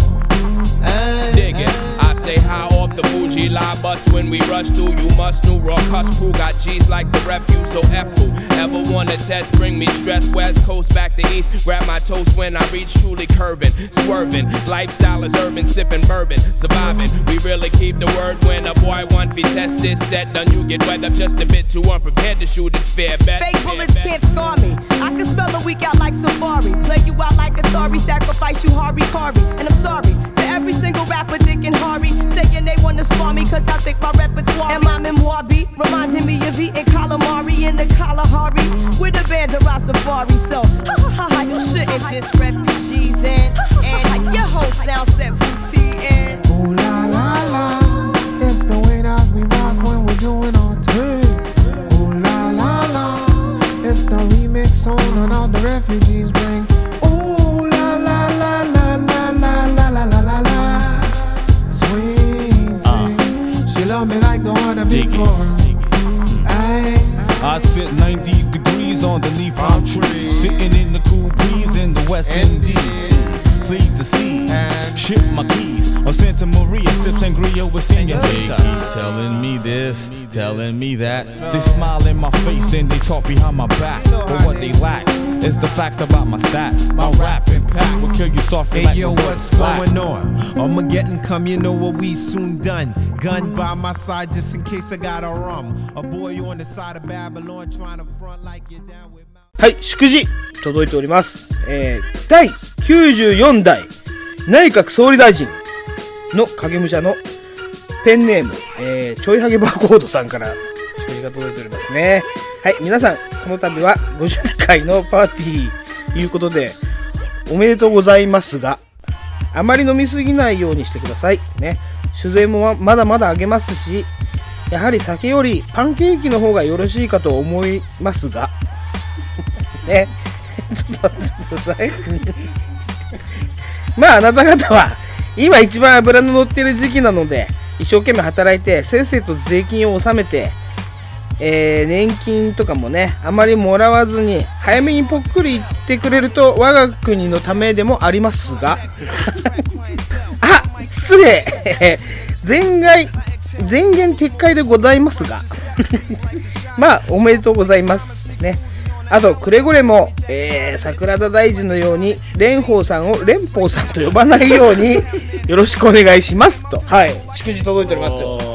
Dig it, I stay high off the bougie line bus when we rush through. You must know raw cuss crew got G's like the refuse. So F who ever wanna test, bring me stress. West coast back to east, grab my toast when I reach truly curving, swerving. Lifestyle is urban, sipping bourbon, surviving. We really keep the word when a boy want to test this set. Done you get wet up just a bit too unprepared to shoot it fair bet. Fake bullets can't scar me. I can spell a week out like Safari, play you out like Atari, sacrifice you Hari Kari. And I'm sorry to every single rapper, Dick and Hari, saying they wanna spar me cause I think my repertoire and my memoir beat reminding me of eating calamari in the Kalahari with a band of Rastafari. So ha ha ha ha, you shouldn't diss refugees and your whole sound set booty in. Ooh la la la, it's the way that we rock when we're doing our thing. Ooh la la la, it's the remix on all the refugees bring. Ooh la la la la la la la la la la la. Sweet thing, she love me like the one before. I sit 90 degrees underneath palm trees, sitting in the cool breeze in the West Indies. Fleet the sea, ship my keys on Santa Maria, sip sangria with senoritas. They keep telling me this, telling me that. They smile in my face, then they talk behind my back. But what they lack is the facts about my stats. My rap impact will kill you softly like yo, what's going on? Armageddon come, you know what we soon done. Gun by my side just in case I got a rum. A boy on the side of Babylon trying to front like you're down with. はい、祝辞届いております。第94代内閣総理大臣の影武者のペンネーム、ちょいハゲバーコードさんから祝辞が届いておりますね。はい、皆さんこの度は50回のパーティーということでおめでとうございますが、あまり飲みすぎないようにしてくださいね。酒税もまだまだ上げますし、やはり酒よりパンケーキの方がよろしいかと思いますがね、ちょっと待ってくださいまああなた方は今一番脂の乗っている時期なので、一生懸命働いてせっせと税金を納めて、年金とかもねあまりもらわずに早めにぽっくり言ってくれると我が国のためでもありますがあ、失礼前言撤回でございますがまあおめでとうございますね。あとくれぐれも、桜田大臣のように蓮舫さんを蓮舫さんと呼ばないようによろしくお願いしますと、はい、祝辞届いておりますよ。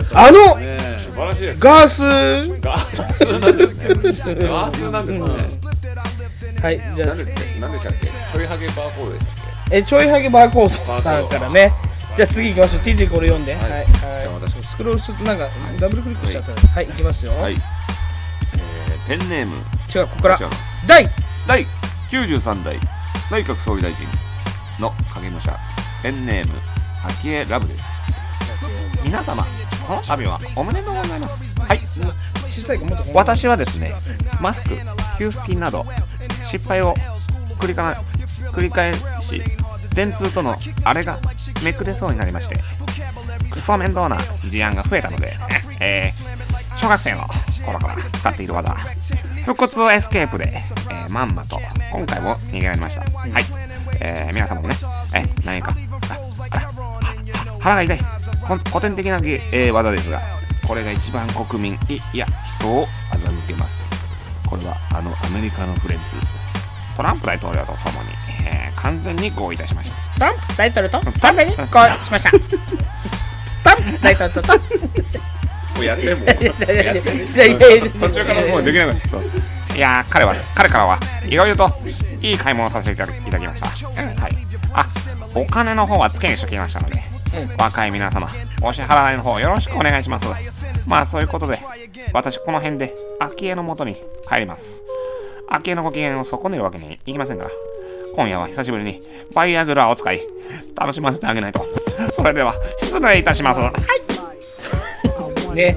ガースなんですね。 ガースなんですね。 はい、じゃあ何でしたっけ？ちょいハゲバーコードでしたっけ？ ちょいハゲバーコードさんからね。じゃあ次行きましょう。TJ これ読んで。はい。 じゃあ私スクロールするとなんかダブルクリックしちゃった。はい、行きますよ。 はい。ペンネーム。 違う、ここから。第 93代内閣総理大臣の影武者。ペンネーム昭恵ラブです。皆様、この度はおめでとうございます。はい。私はですね、マスク、給付金など失敗を繰り返し、電通とのあれがめくれそうになりまして、クソ面倒な事案が増えたので、小学生の頃から使っている技、腹骨エスケープで、まんまと今回も逃げられました。はい。皆様もね、何か腹が痛い古典的な、技ですが、これが一番国民いや人を欺けます。これはアメリカのフレンズトランプ大統領とともに、完全に合意いたしました。 トランプ大統領と完全に合意しました。トランプ大統領ともうやっても途中からもうできなくなった。いや彼からはいろいろといい買い物をさせていただきました。はい。お金の方は付けにしておきましたので、若い皆様お支払いの方よろしくお願いします。まあそういうことで私この辺で昭恵の元に帰ります。昭恵のご機嫌を損ねるわけにいきませんから、今夜は久しぶりにバイアグラを使い楽しませてあげないと。それでは失礼いたします。はいね、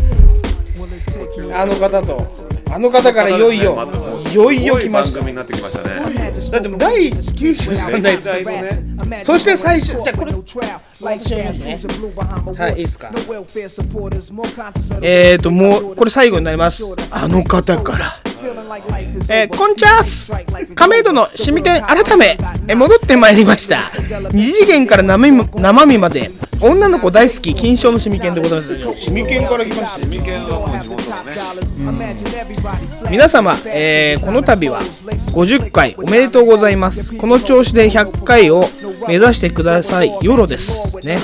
あの方からいよいよ来ました。 番組になってきましたね。 だって第93代そして最初、じゃあこれ私読みますね。はい、いいですか。もうこれ最後になります。あの方からこんちゃーす。亀戸のシミケン改め戻ってまいりました。二次元から生身まで女の子大好き金賞のシミケンでございます。シミケンから来ました。 シミケンはもう地元のね。 皆様、この度は50回おめでとうございます。この調子で100回を目指してください。ヨロですね。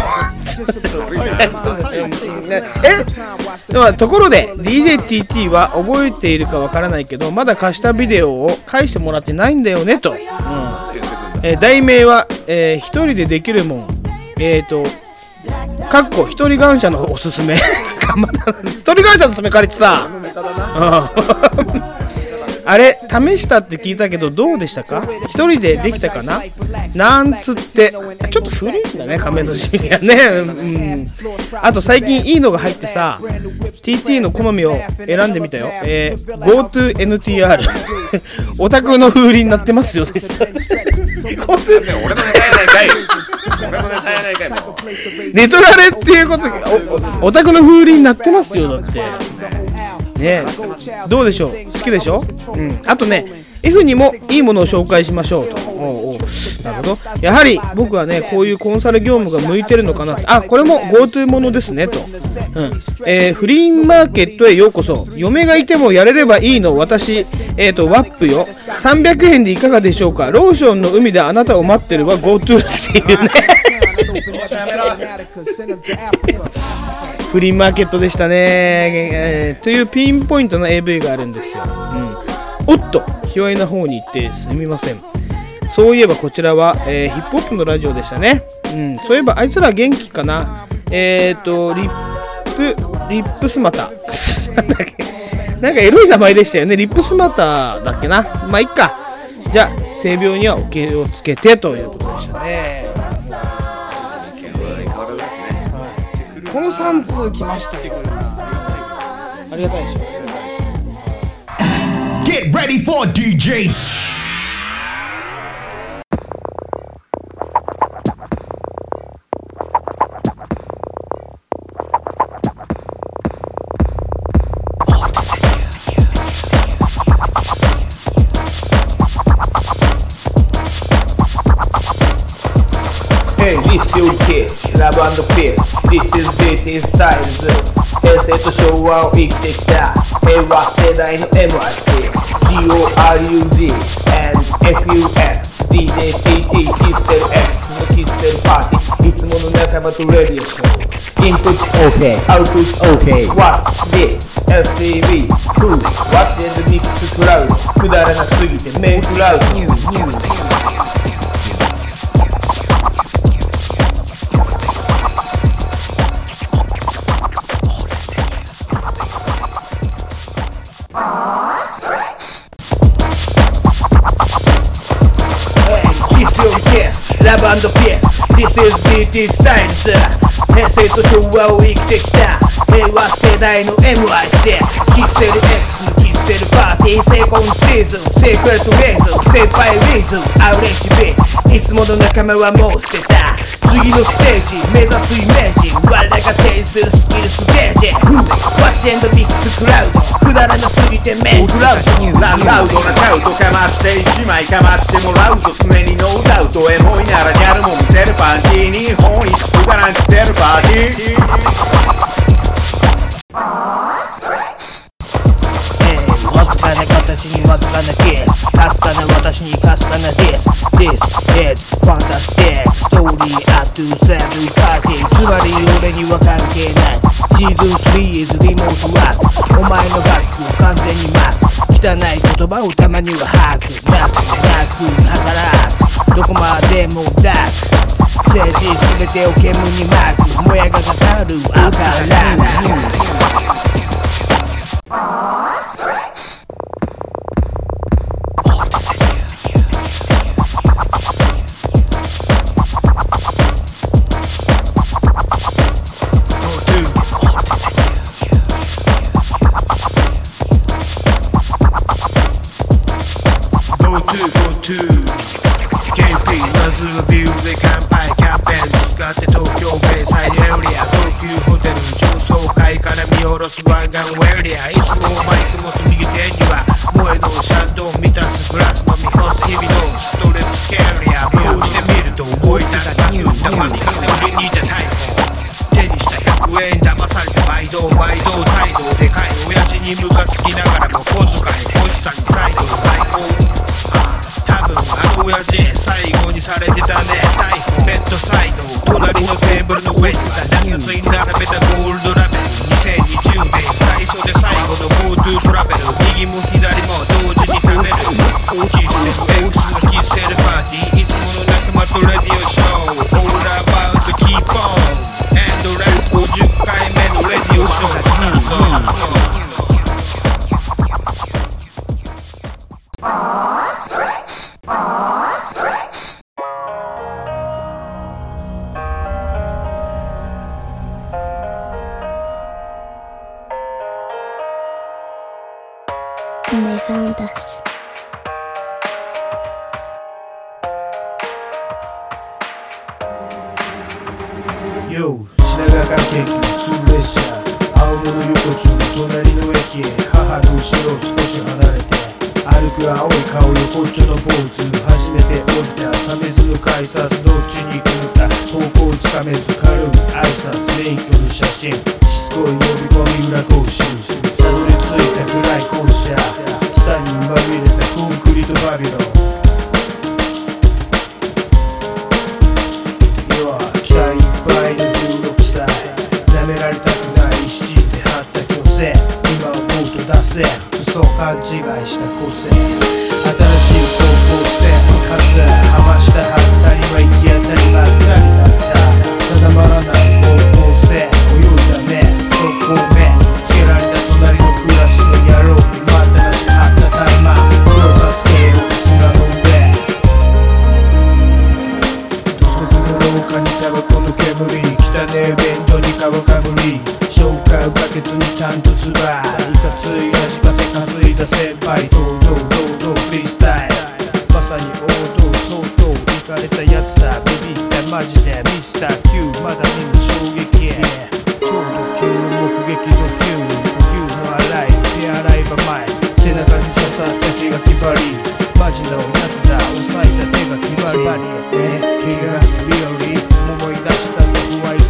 ところで DJTT は覚えているかわからないけど、まだ貸したビデオを返してもらってないんだよねと、題名は、一人でできるもん、かっこ一人感謝のおすすめ一人感謝のおすすめ借りてさあれ試したって聞いたけどどうでしたか？一人でできたかななんつって。ちょっと古いんだね、亀戸市民がね、あと最近いいのが入ってさ TT の好みを選んでみたよ。GoToNTR オタクの風鈴になってますよ。 俺のネタやないかい。 ネトラレっていうことオタクの風鈴になってますよ。だってね、どうでしょう、好きでしょ。あとね F にもいいものを紹介しましょうと。なるほど。やはり僕はねこういうコンサル業務が向いてるのかな。これも GoTo ものですねと、フリーマーケットへようこそ。嫁がいてもやれればいいの私、ワップよ300円でいかがでしょうか。ローションの海であなたを待ってるは GoTo っていうねフリーマーケットでしたね、というピンポイントの AV があるんですよ。おっと卑猥な方に行ってすみません。そういえばこちらは、ヒップホップのラジオでしたね。そういえばあいつら元気かな。リップスマタなんかエロい名前でしたよね。リップスマタだっけな。まあいっか。じゃあ性病にはお気をつけてということでしたね。この3通来ましたよ。ありがたいでしょ。 Get ready for DJ. Hey, this your kid. ラブ&ピース This is DT Styles 平成と昭和を生きてきた平和世代の MIC GORUG and FUX DJ TT キッセル X のキッセルパーティーいつもの仲間とレディオショーインプット OK アウトプット OK What's this? STV Who? What's in the mix crowd くだらなすぎてメンクラウドラブ&ピース This is DT Styles 平成と昭和を生きてきた平和世代の MIC キッセル X のキッセルパーティーセコンドシーズンセークレットレイズンステップバイリズムアウレッジビいつもの仲間はもう捨てた次のステージ目指すイメージ我らが提示するスキルスゲージ Watch and mix クラウドくだらなすぎてメンクラウドラウドなシャウトかまして一枚かましてもらうぞ常にノーダウトエモいならギャルも見せるパンティー日本一くだらん着せるパーティーわずかな形にわずかなキスかすかな私にかすかなディス This is fantastic story up to 7 party つまり俺には関係ないシーズン3 is リモートワークお前のバッグを完全にマーク汚い言葉をたまには吐くなく働くどこまでもダーク政治すべてを煙に巻くもやがかかる赤ラン湾岸ウェリアいつもマイク持つ右手には萌えのシャンドン満たすグラス飲み干す日々のストレスキャリアこうしてみると思い出すバッグたまに風売りにいた逮捕手にした100円騙されて毎度態度でかい親父にムカつきながらも小遣い欲しさに再度解放多分あの親父最後にされてたね逮捕ベッドサイド隣のテーブルの上に何ついに並べたゴールドラベル2020年最初で最後の GoTo トラベル右も左も同時に食べるキスセル X のキスセルパーティーいつもの仲間とレディオショー All about to keep on and let's 50回目のレディオショースタート And they found us. Yo, 品川から京急普通列車青物横丁隣の駅へ母の後ろを少し離れて歩く青い顔横っちょのポーズ初めて降りた鮫洲の改札どっちに行くのか方向をつかめず軽い挨拶免許の写真しつこい呼び込み裏講習たどり着いた暗い校舎ツタにまみれたコンクリートバビロン要は気合いっぱいの16歳舐められたくない一心で張った虚勢今思うと出せ嘘を勘違いした個性新しい方向性かつはました反対は行き当たりばっかりだった定まらない方向性泳いだね速攻目つけられた隣のクラスの野郎にまたなし張ったタイマー黒さすけよ砂の上土足の廊下にタバコの煙汚ねえ便所に皮かぶり消化バケツにタンとツバいかつい味がせかついた先輩登場堂々フリースタイルまさに王道相当イかれたやつさビビったマジでミスター Q まだ見ぬ衝撃ちょうど急目撃ドキュー呼吸の荒い手洗い場前背中に刺さった手が決まりマジのやつだ押さえた手が決まり毛がリアリ思い出したぞホワイト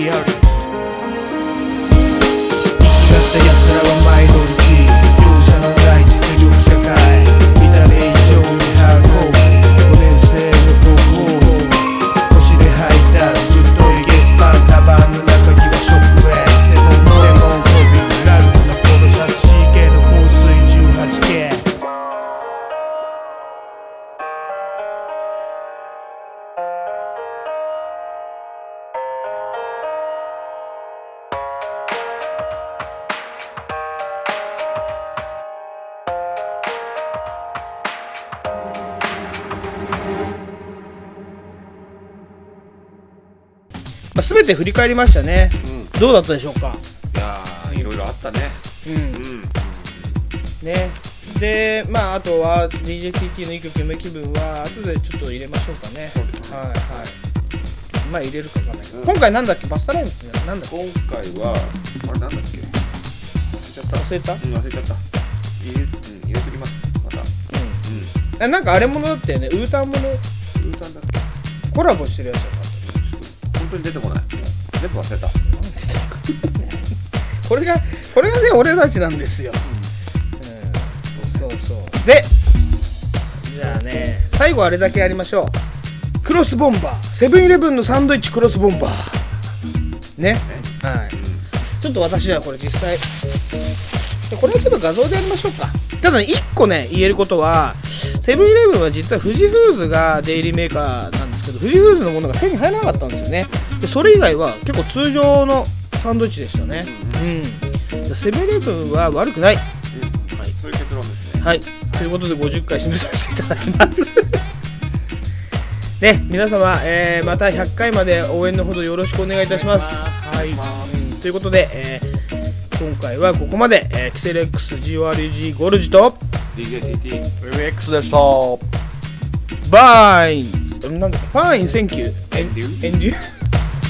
ヒアリ生きがった奴らはマイノリティ容赦のない実力社会見た目以上にハード5年生の高校腰で履いた太いゲスパンカバンの中にはショックウェイ専門コビーラルフのポロシャツ CK の香水 18K全て振り返りましたね、どうだったでしょうか。 いやーいろいろあったね。 ねでまああとは DJTT のいい曲夢気分は後でちょっと入れましょうかね。はいはいまあ入れるかわかんないけど、今回なんだっけバスタライムってなんだっけ。 今回はあれなんだっけ忘れちゃった。 忘れた忘れちゃった。入れときますまた。 なんかあれものだったよね。ウータンもの。 ウータンだっけ。 コラボしてるやつだった。 本当に出てこない。全部忘れた。 これがね俺たちなんですよ。そうそうでじゃあね最後あれだけやりましょう。クロスボンバーセブンイレブンのサンドイッチクロスボンバーねはい、ちょっと私はこれ実際これはちょっと画像でやりましょうか。ただね1個ね言えることはセブンイレブンは実は富士フーズがデイリーメーカーなんですけど富士フーズのものが手に入らなかったんですよね。でそれ以外は結構通常のサンドイッチでしたね。セブンイレブンは悪くない、はい、 そういう結論ですね。 はいということで50回締めさせていただきますね皆様、また100回まで応援のほどよろしくお願いいたします。はい、ということで、今回はここまで、キセル X GORUG ゴルジと DJTT MX でした。 バインなんだっけファインセンキューエンデュー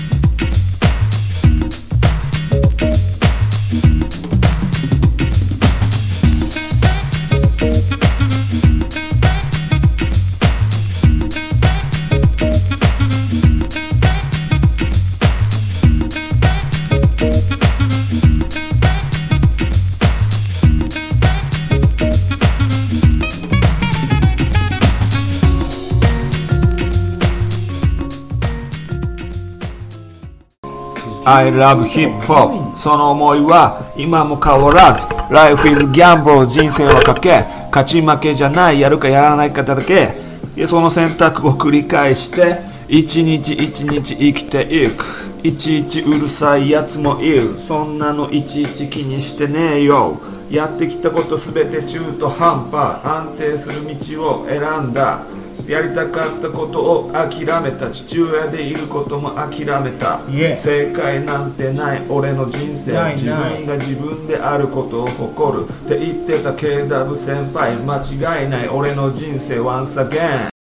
I love hip hop その思いは今も変わらず Life is gamble 人生は賭け勝ち負けじゃないやるかやらないかだけその選択を繰り返して一日一日生きていくいちいちうるさいやつもいるそんなのいちいち気にしてねえよやってきたことすべて中途半端安定する道を選んだやりたかったことを諦めた父親でいることも諦めた、正解なんてない俺の人生自分が自分であることを誇るって言ってた KW 先輩間違いない俺の人生 Once again